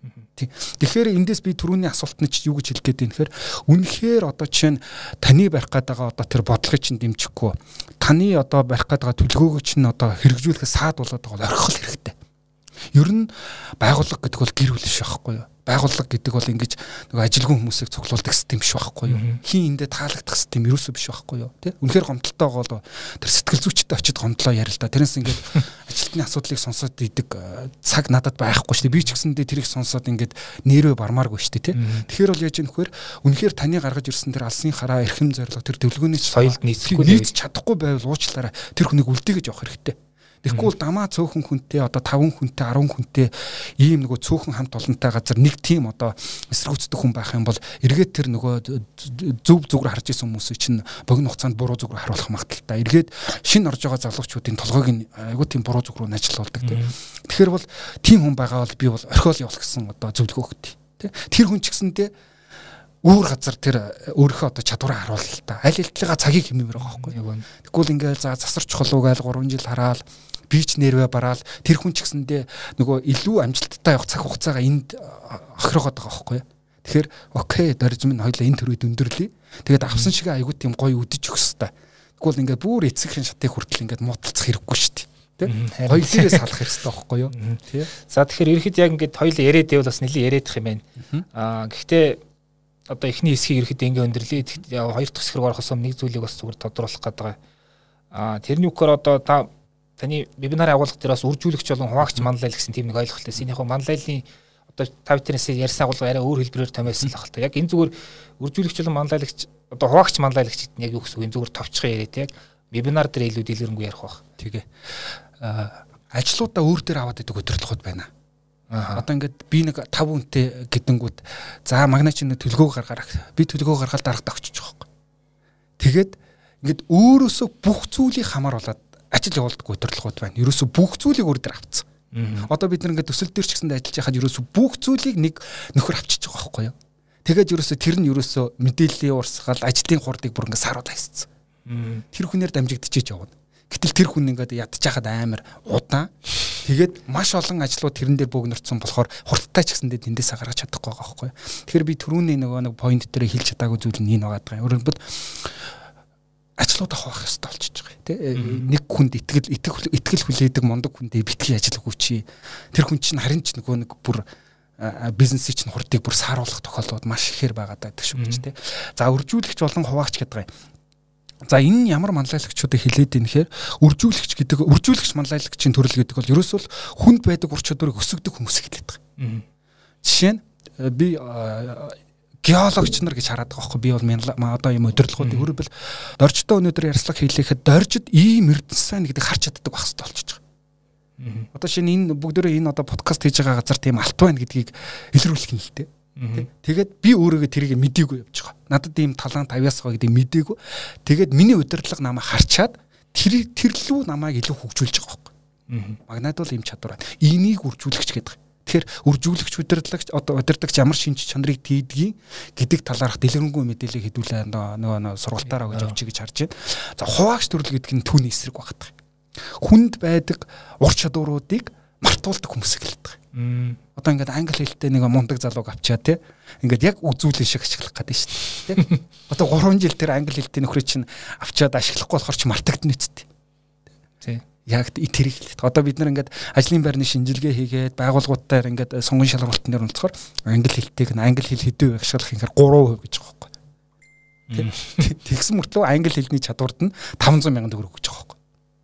Тэгэхээр эндээс би түрүүний асуултанд чи юу гэж хэлэх гээд байна гэхээр үнэхээр одоо жишээ нь таны барих гээд байгаа одоо тэр бодлогыг чинь дэмжихгүй. Таны одоо барих гээд байгаа төлөвлөгөөг чинь одоо хэрэгжүүлэхэд саад болоод байгаа орхих хэрэгтэй. Ер нь байгууллага гэдэг бол гэр бүл биш байхгүй юу? Байгууллага гэдэг бол ингэж нөгөө ажилгүй хүмүүсийг цуглуулдаг систем биш байхгүй юу? Хин эндээ таалагдах систем ерөөсөө биш байхгүй юу? Тэ? Үнэхээр гомдолтой бол тэр сэтгэл зүйчтэй очиод гомдлоо ярил л да. Тэрнээс ингээд ажилтны асуудлыг сонсоод идэг цаг надад байхгүй шүү дээ. Би ч гэсэндээ тэрийг сонсоод ингээд нэрвэ бармааргүй шүү дээ, тэ? Тэгэхээр бол яаж юм хөхөр үнэхээр таны гаргаж ирсэн тэр алсын хараа эрхэм зорилго тэр төлөвлөгөөний соёлд нийцэхгүй нийцэж чадахгүй байвал уучлаарай. Тэр хүнийг үлдээгэж явах хэрэгтэй. Тэгэхгүй бол дамаа цөөхөн хүнтэй одоо таван хүнтэй десять хүнтэй ийм нөгөө цөөхөн хамт олонтой газар нэг тим одоо эсэргүүцдэг хүн байх юм бол эргээд тэр нөгөө зөв зүгээр харж исэн хүмүүсийг чинь богино хугацаанд буруу зүгээр харуулах магадaltaй. Эргээд шинэ орж байгаа залуучуудын толгойг нь айгүй тийм буруу зүгээр нь ажилуулдаг тийм. Тэгэхээр бол тим хүн байгаа бол би бол орхиол явах гэсэн одоо зөвлөгөө өгдөг тийм. Тэр хүн ч гэсэндээ өөр газар тэр өөрийнхөө одоо чадвараа харуулъя л та. Аль хэлтлэгээ цагийг хэмнэмээр байгаа байхгүй юу. Тэгвэл ингээл за засар чухал угаал гурван жил хараал бич нэрвэ бараал тэр хүн ч гэсэндээ нөгөө илүү амжилттай явах цаг хугацаагаа энд охироод байгаа байхгүй юу. Тэгэхээр окей дөрж минь хоёлаа энэ төрөйд өндөрлөе. Тэгээд авсан шиг айгуу тийм гоё үдэж өгс та. Тэгвэл ингээд бүр эцэгхэн шатыг хүртэл ингээд муудалцах хэрэггүй шүү дээ. Тэ? Хоёулаас салах хэрэгтэй байхгүй юу. Тий. За тэгэхээр ерхэд яг ингээд хоёул яриад байвал бас нэлийн яриадах юм байна. Аа гэхдээ одоо эхний хэсгийг ерхэд ингээ өндөрлөе. Хоёр дахь хэсэг рүү орохоос өмнө нэг зүйлийг бас зүгээр тодруулах гээд байгаа. Аа тэрний үгээр одоо та таны вебинарын агуулга дээр бас үржүүлэгч болон хуваагч манлайл гэсэн тийм нэг ойлголттой. Синийхөө манлайлын одоо та биднээс ярьсан агуулга арай өөр хэлбэрээр томьёолсон л хаалта. Яг энэ зүгээр үржүүлэгч болон манлайлагч одоо хуваагч манлайлагч гэдэг нь яг юу гэсэн үг энэ зүгээр товчхон яриад яг вебинар дээр илүү дэлгэрэнгүй ярих байх. Тэгээ. Аа ажлуудаа өөр дээр аваад идэг өдөрлөхөд байна. Аа. Одоо ингээд би нэг тав хүнтэй гэдэнгүүт за магна чинь төлгөөг гаргаарах. Би төлгөө гаргаад дарагт очиж байгаа юм. Тэгээд ингээд өөрөөсөө бүх зүйлийг хамаар болоод ажил явуулдаг өдөрлөхөд байна. Ерөөсөө бүх зүйлийг өөр дээр авцсан. Одоо бид нар ингээд төсөл дээр ч гэсэн ажиллаж байхад ерөөсөө бүх зүйлийг нэг нөхөр авчиж байгаа байхгүй юу? Тэгээд ерөөсөө тэр нь ерөөсөө мэдээллийн урсгал ажлын хурдыг бүр ингээд саруулаа хийсэн. Тэр хүнээр дамжигдчихэж явна. Гэтэл тэр хүн ингээд ядчих хаад амар удаан. Тэгээд маш олон ажлууд тэрэн дээр бөөгнөрцөн болохоор хурдтай ч гэсэндээ тэндээс гаргаж чадахгүй байгаа байхгүй юу? Тэгэхээр би түрүүний нөгөө нэг point дээр хэлж чадаагүй зүйл нь энэ байгаа. Өөрөлд ажлуудаа хуваах хэрэгтэй болчихж байгаа тий. Нэг хүнд итгэл итгэл итгэл хүлээдэг мундаг хүндээ битгий ажил өгөөч. Тэр хүн чинь харин ч нөгөө нэг бүр бизнесийн чинь хурдыг бүр сааруулах тохиолдлууд маш ихээр байгаа даа гэдэг шүү дээ тий. За үржүүлэгч болон хуваагч гэдэг байгаа. За энэ нь ямар манлайлагчуудыг хэлээд ийм нэхэр үржүүлэгч гэдэг үржүүлэгч манлайлагчийн төрөл гэдэг бол ерөөсөө хүнд байдаг ур чадварыг өсгөдөг хүмүүс хэлээд байгаа. Жишээ нь би геологч нар гэж хараад байгаа байхгүй би бол одоо юм өдөрлгүүдийг өөрөөр доржтой өнөөдөр ярьслах хийлэхэд доржид ийм эрдэнэс сайн гэдэг харж чаддаг байх хэрэгтэй болчихж байгаа. Одоо шинэ энэ бүгдөө энэ одоо подкаст хийж байгаа газар тийм алт байна гэдгийг илрүүлэх юм л дээ. Тэгээд би өөрөөгээ тэрийг мэдээгүй явж байгаа. Надад ийм талант авьяас байгаа гэдгийг мэдээгүй. Тэгээд миний удирдлага намайг харчаад тэр тэрлүү намайг илүү хөгжүүлж байгаа байхгүй. Магнад бол ийм чадвар байна. Энийг үржүүлэгч гэдэг. Тэгэхээр үржүүлэгч удирдлагч одоо удирдагч ямар шинж чанарыг тийдгийг гэдэг талаарх дэлгэрэнгүй мэдээлэл хэдүүлээ нөгөө сургалтаараа гэж авчиг гэж харж байна. За хуваагч төрөл гэдэг нь түүний эсрэг багтах. Хүнд байдаг ур чадваруудыг мартуулдаг хүмүүс хэлдэг. Одоо ингээд англи хэлтэй нэг мундаг залууг авчаа тий. Ингээд яг үзүүлэн шиг ашиглах гэдэг шүү дээ. Тий. Одоо гурван жил тэр англи хэлтэй нөхрөө чинь авчаад ашиглахгүй болохоор ч мартагдана үсттэй. Тий. Яг тэрийг хэлээд. Одоо бид нар ингээд ажлын байрны шинжилгээ хийгээд байгууллагуудаар ингээд сонгон шалгалтын дээр онцгоор англи хэлтэйг нь англи хэл хэдүү ашиглах юм хэрэг гурван хувь гэж байгаа байхгүй. Тэгсэн мөртлөө англи хэлний чадварт нь таван зуун мянган төгрөг гэж байгаа байхгүй.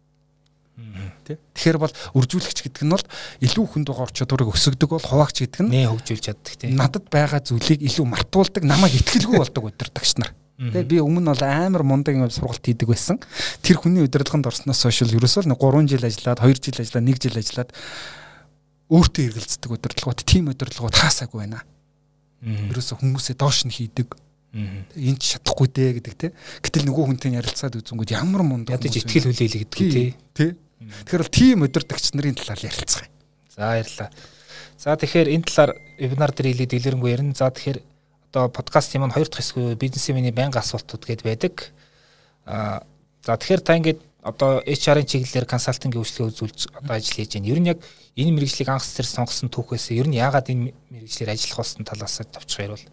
Тэгэхээр бол үржүүлэгч гэдэг нь бол илүү хүнд байгаа ур чадварыг өсгөдөг бол хуваагч гэдэг нь нэ хөгжүүлж чаддаг тийм. Надад байгаа зүйлийг илүү мартуулдаг, намайг итгэлгүй болдог удирдагч нар. Тэгээ би өмнө бол амар мундаг юм сургалт хийдэг байсан. Тэр хүний удирдлаганд орсноос хойш ерөөсөө нэг гурван жил ажиллаад, хоёр жил ажиллаад, нэг жил ажиллаад өөртөө эргэлздэг удирдлагууд, тим удирдлагууд хаасаагүй байна. Ерөөсөө хүмүүсээ доош нь хийдэг. Энд ч чадахгүй дээ гэдэг те. Гэтэл нөгөө хүнтэй ярилцаад үзэнгүүд ямар мундаг ядаж итгэл хүлээлээ гэдэг тий. Тий. Тэгэхээр бол тим удирдагч нарын талаар ярилцгаая. За баярлалаа. За тэгэхээр энэ талаар вебинар дээр хэлээд дэлгэрэнгүй ярина. За тэгэхээр одоо подкастын маань хоёр дахь хэсэг бизнесмений байнга асуултууд гээд байдаг. Аа за тэгэхээр та ингээд одоо эйч ар-ын чиглэлээр консалтингийн үйлчлэгээ үзүүлж одоо ажил хийж байна. Ер нь яг энэ мэргэжлийг анх зэрэг сонгосон түүхээс ер нь яагаад энэ мэргэжлэр ажиллах болсон талаас тавьчих ярил.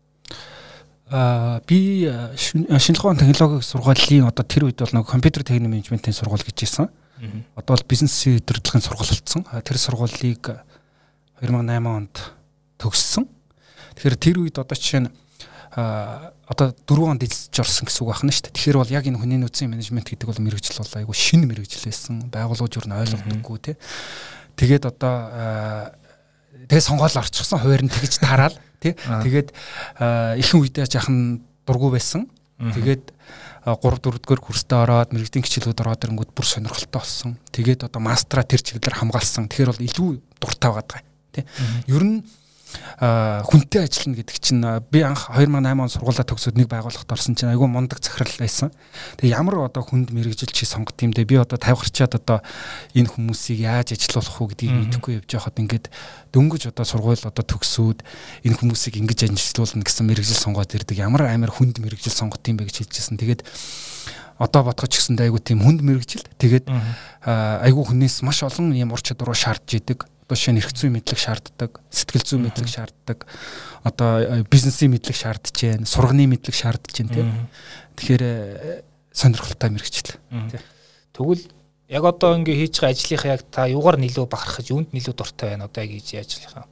Аа би шинжлэх ухааны технологийн сургуулийн одоо тэр үед бол нэг компьютер техник менежментийн сургууль гэж ирсэн. Одоо бол бизнесийн удирдлагын сургууль болсон. Тэр сургуулийг хоёр мың и восемь онд төгссөн. Тэгэхээр тэр үед одоо жишээ нь а одоо дөрвөн онд эзэлж орсон гэсэн үг байна шүү дээ. Тэгэхээр бол яг энэ хүний нөөцийн менежмент гэдэг бол мэргэжил бол айгүй шинэ мэргэжил байсан. Байгууллагууд юу н ойлгодоггүй тий. Тэгээд одоо тэгээ сонгоол орчихсон хуваар нь тэгж тараал тий. Тэгээд ихэнх үедээ жаахан дургу байсан. Тэгээд гурав дөрөвдүгээр курстэ ороод мэргэжлийн хичээлүүд ороод ирэнгүүт бүр сонирхолтой болсон. Тэгээд одоо мастера тэр чиглэлээр хамгаалсан. Тэгэхээр бол илүү дуртай байгаа даа тий. Ер нь хүнтэй ажиллана гэдэг чинь би анх хоёр мың и восемь он сургуулаа төгсөөд нэг байгууллагт орсон чинь айгүй мундаг захирал байсан. Тэгээ ямар одоо хүнд мэргэжил чи сонгот юм дэ би одоо тавьгарчаад одоо энэ хүмүүсийг яаж ажилуулах уу гэдгийг мэдэхгүй явж байхад ингээд дөнгөж одоо сургууль одоо төгсөөд энэ хүмүүсийг ингэж ажилуулна гэсэн мэргэжил сонгоод ирдэг. Ямар амар хүнд мэргэжил сонгот юм бэ гэж хэлжсэн. Тэгээд одоо бодгоч гэсэндээ айгүй тийм хүнд мэргэжил. Тэгээд айгүй хүнээс маш олон юм ур чадваруу шаардж идэг. Жишээ нь эрх зүйн мэдлэг шаарддаг, сэтгэл зүйн мэдлэг шаарддаг, одоо бизнесийн мэдлэг шаардж байна, сурганы мэдлэг шаардж байна тийм. Тэгэхээр сонирхолтой мэргэжил. Тэгвэл яг одоо ингээ хийж байгаа ажлынхаа яг та юугаар нэлээд бахархаж, үүнд нэлээд дуртай байна одоо яг хийж ажиллахаа.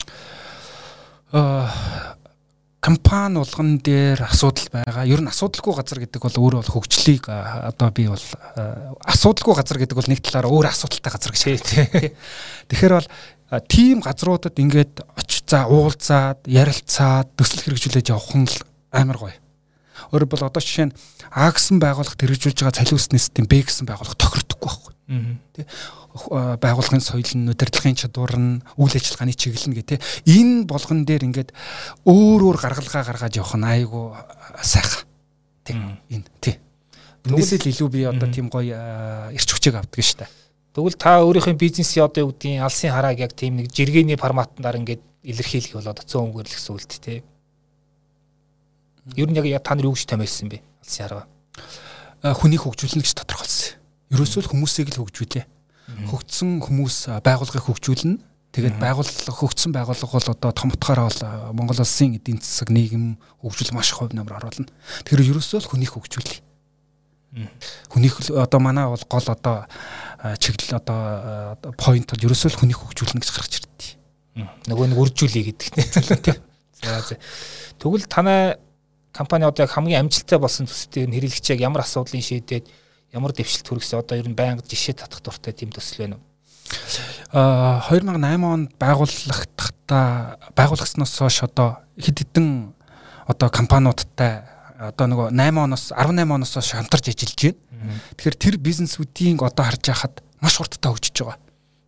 Аа компани болгон дээр асуудал байгаа. Ер нь асуудалгүй газар гэдэг бол өөрөө бол хөгжлийг одоо би бол асуудалгүй газар гэдэг бол нэг талаараа өөр асуудалтай газар гэж хэлээ. Тэгэхээр бол тийм газруудад ингээд очиж за уулзаад, ярилцаад, төсөл хэрэгжүүлээд явах нь амар гоё. Өөрөөр бол одоо жишээ нь А гэсэн байгууллагт хэрэгжүүлж байгаа цалин систем Б гэсэн байгууллага тохирдохгүй байхгүй. Тэ байгууллагын соёл нь, удирдлагын чадвар нь, үйл ажиллагааны чиглэл нь гэх тэ энэ болгон дээр ингээд өөр өөр гаргалгаа гаргаж явах нь айгу сайхан. Тэ энэ тэ. Түүнээс л илүү би одоо тийм гоё эрч хүчийг авдаг шүү дээ. Тэгвэл та өөрийнхөө бизнесийн одоо юу гэдгийг алсын харааг яг тийм нэг жиргэний форматаар ингээд илэрхийлэх болоод цөөн өнгөрлөх гэсэн үг тэ. Ер нь яг та нар юу гэж томьёолсон бэ? Алсын хараа. Хүнийг хөгжүүлнэ гэж тодорхойлсон. Ерөөсөө л хүмүүсийг л хөгжүүлээ. Хөгжсөн хүмүүс байгууллагыг хөгжүүлнэ. Тэгээд байгууллага хөгжсөн байгууллага бол одоо том утгаараа бол Монгол улсын эдийн засаг нийгэм хөгжүүл маш хувь нэмэр оруулна. Тэгэхээр ерөөсөө л хүнийг хөгжүүлээ. Хүнийг одоо манай бол гол одоо чиглэл одоо point бол ерөөсөө л хүнийг хөгжүүлнэ гэж гаргаж ирдээ. Нөгөө нэг үржүүлээ гэдэг тийм. За за. Тэгвэл танай компани одоо яг хамгийн амжилттай болсон төсөлтөөр хэрэглэгч яг ямар асуудлыг шийдээд ямар дэвшилт хүргэсэн одоо ер нь байнга жишээ татах дуртай тийм төсөл байна уу? Аа хоёр мың и восемь онд байгууллагатаа байгуулагдсноос хойш одоо хэд хэдэн одоо компаниудтай одоо нөгөө восемь оноос арван восемь оноос хойш хамтарч ажиллаж байна. Тэгэхээр тэр бизнесүүдийн одоо харж байхад маш хурдтай хөгжиж байгаа.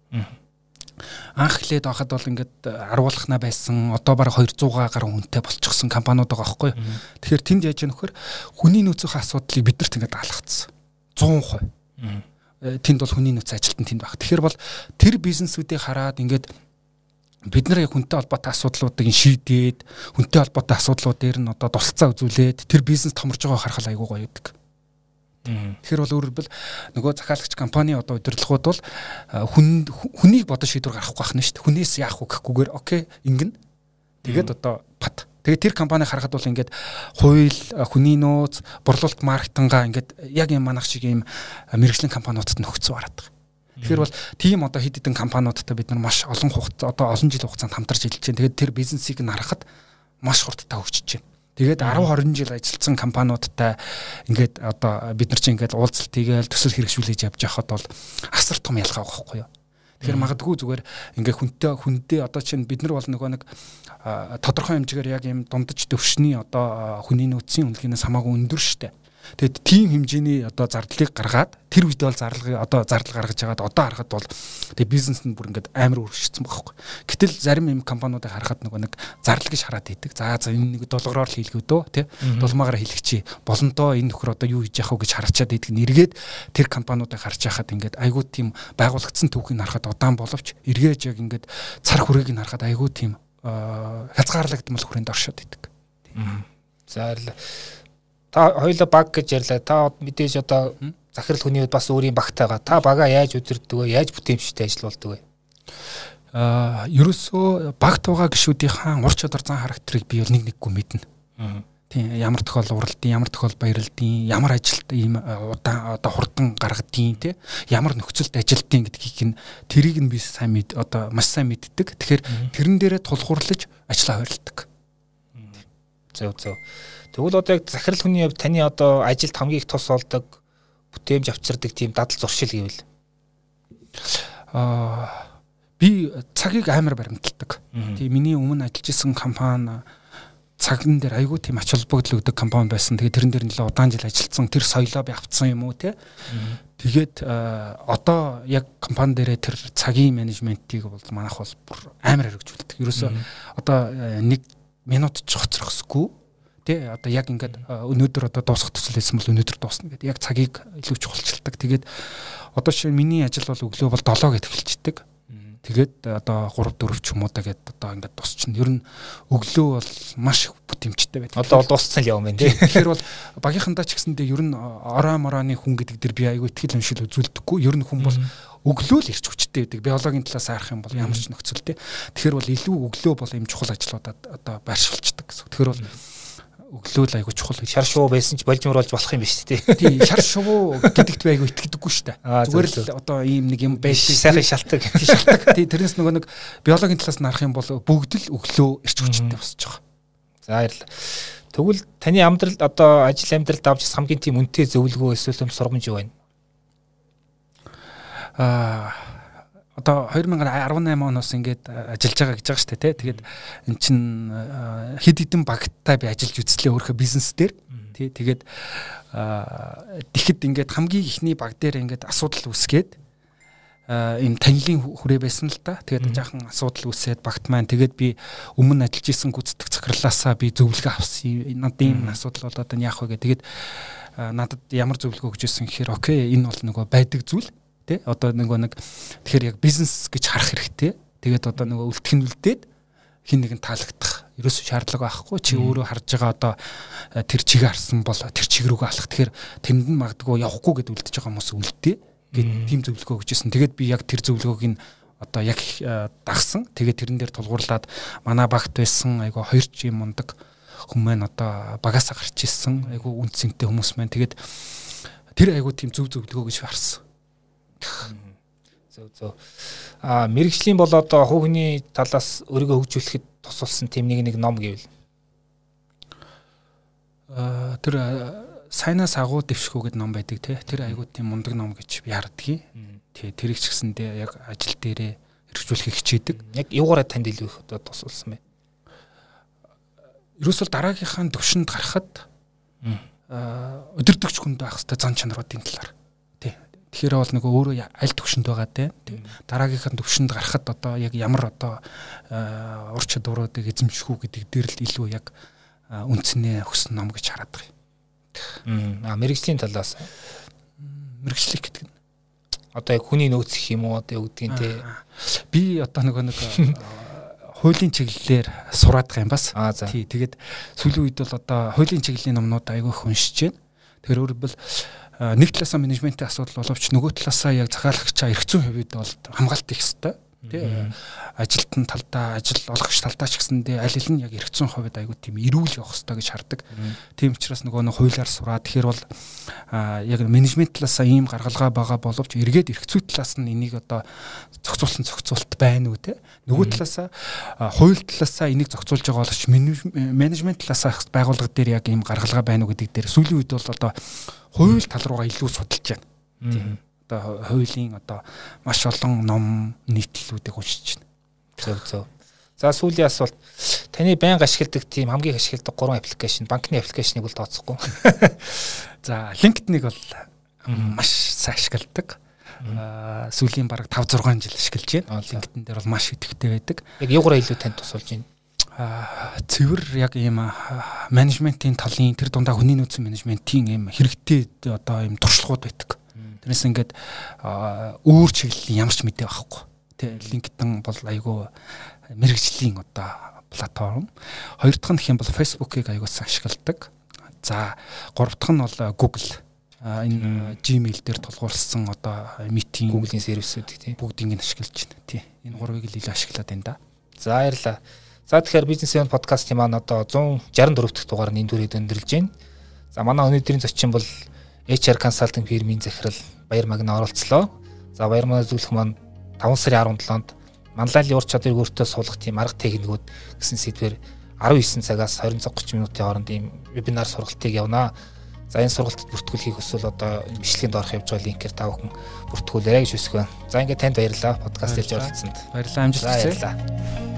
Анх хэлээд байхад бол ингээд аруулахна байсан одоо бараг хоёр зуун гаруй хүнтэй болчихсон компаниуд байгаа байхгүй. Тэгэхээр тэнд яаж яах нөхөр хүний нөөцийн асуудлыг биднэрт ингээд даалгацсан. сто процент. Тэнд бол хүний нөөц ажилтан тэнд баг. Тэгэхээр бол тэр бизнесүүдийг хараад ингээд бид нар яг хүнтэй холбоотой асуудлуудыг шийдээд хүнтэй холбоотой асуудлууд дээр нь одоо тусалцаа үзүүлээд тэр бизнес томорж байгааг харахад айгүй гоё байдаг. Тэгэхээр бол өөрөөр хэлбэл нөгөө захиалагч компани одоо удирдлагууд бол хүн хүнийг бодож шийдвэр гаргахгүй байна шүү дээ. Хүнээс яах вэ гэхгүйгээр окей ингэн. Тэгээд одоо бат. Тэгээд тэр компани харахад бол ингээд хууль, хүний нөөц, борлуулалт маркетингаа ингээд яг юм манах шиг юм мэргэжлийн компаниудад нөхцөө хараад байгаа. Тэгэхээр бол тийм одоо хэд хэдэн компаниудтай бид нар маш олон хугацаа одоо олон жил хугацаанд хамтарч ажиллаж байна. Тэгээд тэр бизнесийг нь харахад маш хурдтай хөгжиж байна. Тэгээд десять двадцать жил ажилласан компаниудтай ингээд одоо бид нар чинь ингээд уулзалт хийгээл төсөл хэрэгжүүлж явж байхад бол асар том ялгаа байхгүй юу. Тэгэхээр магадгүй зүгээр ингээ хүнтэй хүндээ одоо чинь бид нар бол нөгөө нэг тодорхой хэмжээгээр яг юм дундаж төвшний одоо хүний нөөцийн үнэлгээнээс хамаагүй өндөр штэ. Тэгэд тийм хэмжээний одоо зардлыг гаргаад тэр үед бол зарлага одоо зардал гаргаж байгаад одоо харахад бол тэгээ бизнес нь бүр ингээд амар өргөжсөн байхгүй. Гэтэл зарим юм компаниудыг харахад нөгөө нэг зардал гэж хараад идэг. За за энэ нэг долгороор л хийлгүү дөө тий. Дулмаагаар хийлгчи. Болондоо энэ нөхөр одоо юу хийж яах вэ гэж харчаад идэг. Нэргээд тэр компаниудыг харж байхад ингээд айгүй тийм байгуулагдсан төвхийг харахад удаан боловч эргээж яг ингээд цар хүрээг нь харахад айгүй тийм хязгаарлагдмал хүрээнд оршоод идэг. За та хоёулаа баг гэж ярьлаа. Та мэдээж одоо захирал хүний үед бас өөрийн багтайгаа. Та бага яаж удирддаг вэ? Яаж бүтээмжтэй ажилладаг вэ? Аа, ерөөсөө багт байгаа гишүүдийн ур чадвар зан характерыг би бол нэг нэггүй мэднэ. Тийм, ямар тохиол уралдیں, ямар тохиол баярлдیں, ямар ажилд ийм удаан одоо хурдан гаргадیں, тий? Ямар нөхцөлд ажилдیں гэдгийг нь тэрийг нь би сайн мэд одоо маш сайн мэддэг. Тэгэхээр тэрэн дээрээ тулгуурлаж ажиллаа хойролдог. Зөв зөв. Тэгвэл одоо яг захирал хүний хувьд таны одоо ажилд хамгийн их тус болдог бүтээмж авчирдаг тийм дадал зуршил гэвэл аа би цагийг амар баримталдаг. Тэгээ миний өмнө ажиллаж исэн компани цагн дээр айгүй тийм ач холбогдол өгдөг компани байсан. Тэгээ тэрэн дээр нэлээд удаан жил ажилласан. Тэр соёлоо би авцсан юм уу те. Тэгээд одоо яг компани дээрээ тэр цагийн менежментийг бол манайх бол бүр амар хэрэгжүүлдэг. Ерөөсөө одоо нэг минут ч хоцрохсгүй. Тэ одоо яг ингээд өнөөдөр одоо дуусах төсөл байсан бол өнөөдөр дуусна гэдэг. Яг цагийг илүү чухалчилдаг. Тэгээд одоо шинэ миний ажил бол өглөө бол долоо гэд эхэлждэг. Тэгээд одоо гурав дөрөв ч юм уу да гэд одоо ингээд дуусчихна. Ер нь өглөө бол маш бүтээмжтэй байдаг. Одоо бол дууссан л явна тий. Тэгэхээр бол багийнхандаа ч гэсэндээ ер нь ороо мороны хүн гэдэг дэр би айгүй ихтгэл өншил үзүүлдэггүй. Ер нь хүн бол өглөө л ирч хүчтэй байдаг. Биологийн талаас харах юм бол ямар ч нөхцөл тий. Тэгэхээр бол илүү өглөө бол юм чухал ажлуудад одоо байршилчдаг гэсэн. Тэгэхээр бол өглөө л айгу чухал шар шувуу байсан ч болж мөрүүлж болох юм биш үү? Тий, шар шувуу гэдэгт би айгу итгэдэггүй шүү дээ. Зүгээр л одоо ийм нэг юм байж сайхан шалтгаан шалтгаан. Тий, тэрнээс нөгөө нэг биологийн талаас нь харах юм бол бүгд л өглөө ирч хүчтэй босч байгаа. За баярлалаа. Тэгвэл таны амьдралд одоо ажил амьдралд авч хамгийн тийм үнэтэй зөвлөгөө эсвэл сургамж юу байна? Аа одоо две тысячи десять оноос ингээд ажиллаж байгаа гэж байгаа шүү дээ. Тэгээд эн чин хэд хэдэн багтаа би ажиллаж үзлээ өөрөө бизнес дээр. Тий тэгээд тэгэхэд ингээд хамгийн ихний баг дээр ингээд асуудал үүсгээд ийм танилын хүрээ байсан л да. Тэгээд жаахан асуудал үүсээд багт маань тэгээд би өмнө ажиллаж исэн гүйцэтгэх захирлаасаа би зөвлөгөө авсан. Надад ийм асуудал болоод энэ яах вэ гэдэг. Тэгээд надад ямар зөвлөгөө өгч ирсэн гэхээр окей энэ бол нөгөө байдаг зүйл. Тэ одоо нөгөө нэг тэгэхээр яг бизнес гэж харах хэрэгтэй. Тэгээд одоо нөгөө үлдэх нь үлдээд хин нэгэн таалагдах ерөөсөө шаардлага байхгүй. Чи өөрөө харж байгаа одоо тэр чиг харсан бол тэр чиг рүүгээ алах. Тэгэхээр тэнд нь магадгүй явахгүй гэд үлдэж байгаа хүмүүс үлдээ гэд тийм зөвлөгөө өгч ирсэн. Тэгээд би яг тэр зөвлөгөөг нь одоо яг дагсан. Тэгээд тэрэн дээр тулгуурлаад манай багт байсан айгу хоёр ч юм мундаг хүмүүс одоо багасаа гарч ирсэн. Айгу үн цэнтэй хүмүүс маань тэгээд тэр айгу тийм зөв зөвлөгөө гэж харсан. Зөв зөв. А мэрэгжлийн бол одоо хувийн талаас өөрийгөө хөгжүүлэхэд тусалсан тийм нэг нэг ном гэвэл а тэр сайнаас агуу дэвшгүй гэдэг ном байдаг тий. Тэр айгуу тийм мундаг ном гэж би хардгийг. Тий тэрийг ч гэсэндээ яг ажил дээрээ хэрэгжүүлэхийг хичээдэг. Яг юугаараа танд илүү их одоо тусалсан бэ? Ерөөсөл дараагийнхаа төвшөнд гарахад а өдөртөгч хүнд байх хэвээр зан чанаруудын талаар. Тэгэхээр бол нөгөө өөрөө аль төвшөнд байгаа те дараагийнхаа төвшөнд гарахад одоо яг ямар одоо ур чадваруудыг эзэмших үү гэдэг дээр л илүү яг үндснээ өгсөн ном гэж хараад байгаа юм. Аа мэрэгжлийн талаас мэрэгчлэх гэдэг нь одоо яг хүний нөөц гэх юм уу одоо өгдөг юм те. Би одоо нөгөө нэг хуулийн чиглэлээр сураад байгаа юм бас. Тий тэгээд сүүлийн үед бол одоо хуулийн чиглэлийн номнууд айгүй их уншиж байна. Тэгэхээр өөрөлдвөл нэг талаасаа менежментийн асуудал боловч нөгөө талаасаа яг захиалагчаа эрх зүйн хувьд бол хамгаалт их хэвээр тий ажилтны талдаа ажил олгогч талдаа ч гэсэндээ аль аль нь яг эрх зүйн хувьд аягүй тийм эрүүл явах хэрэгтэй гэж хардаг. Тийм учраас нөгөө нэг хуулиар сураад тэгэхээр бол яг менежмент талаасаа ийм гаргалгаа байгаа боловч эргээд эрх зүй талаас нь энийг одоо зохицуулсан зохицуулт байна уу тий нөгөө талаасаа хууль талаасаа энийг зохицуулж байгаа боловч менежмент талаасаа байгууллага дээр яг ийм гаргалгаа байна уу гэдэг дээр сүүлийн үед бол одоо хууль тал руугаа илүү судалж байна. одоо хуулийн одоо маш олон ном нийтлэлүүдийг уншиж байна. Зөв зөв. За сүүлийн асуулт таны байнга ашигладаг тийм хамгийн их ашигладаг гурван аппликейшн, банкны аппликейшнийг бол тооцохгүй. За LinkedIn-ыг бол маш сайн ашигладаг. Аа сүүлийн бараг five six жил ашиглаж байна. LinkedIn дээр бол маш идэвхтэй байдаг. Яг юугаараа илүү танд тусалж байна? Аа цэвэр яг ийм менежментийн талын тэр дундаа хүний нөөцийн менежментийн ийм хэрэгтэй одоо ийм туршлагууд байдаг. Тэрнээс ингээд өөр чиглэлийн ямар ч мэдээ байхгүй. Тэ LinkedIn бол айгүй мэрэгжлийн одоо платформ. Хоёр дахь нь хэм бол Facebook-ыг айгүй сайн ашигладаг. За гурав дахь нь бол Google. Энэ Gmail дээр тулгуурсан одоо митинг Google-ийн сервисүүд тийм бүгдийг нь ашиглаж байна. Тий. Энэ гурвыг л илүү ашиглаад байна да. За баярлалаа. За тэгэхээр бизнес эвент подкастын маань одоо one sixty-four дахь дугаар нь энэ дүрээд өндөрлж байна. За манай өнөөдрийн зочин бол эйч ар консалтинг фирмийн захирал Баяр Магна оролцлоо. За Баяр Магна зөвлөх маань five сарын seventh-нд манлайлалын ур чадварыг өөртөө суулгах тийм арга техникүүд гэсэн сэдвээр nineteen цагаас twenty thirty минутын хооронд ийм вебинар сургалтыг явнаа. За энэ сургалтад бүртгүүлэхийг хүсвэл одоо бичлэгэнд орох явж байгаа линкээр та бүхэн бүртгүүлээрэй гэж хүсэж байна. За ингээд танд баярлалаа подкаст хийж оролцсонд. Баярлалаа амжилт хүсье. Баярлалаа.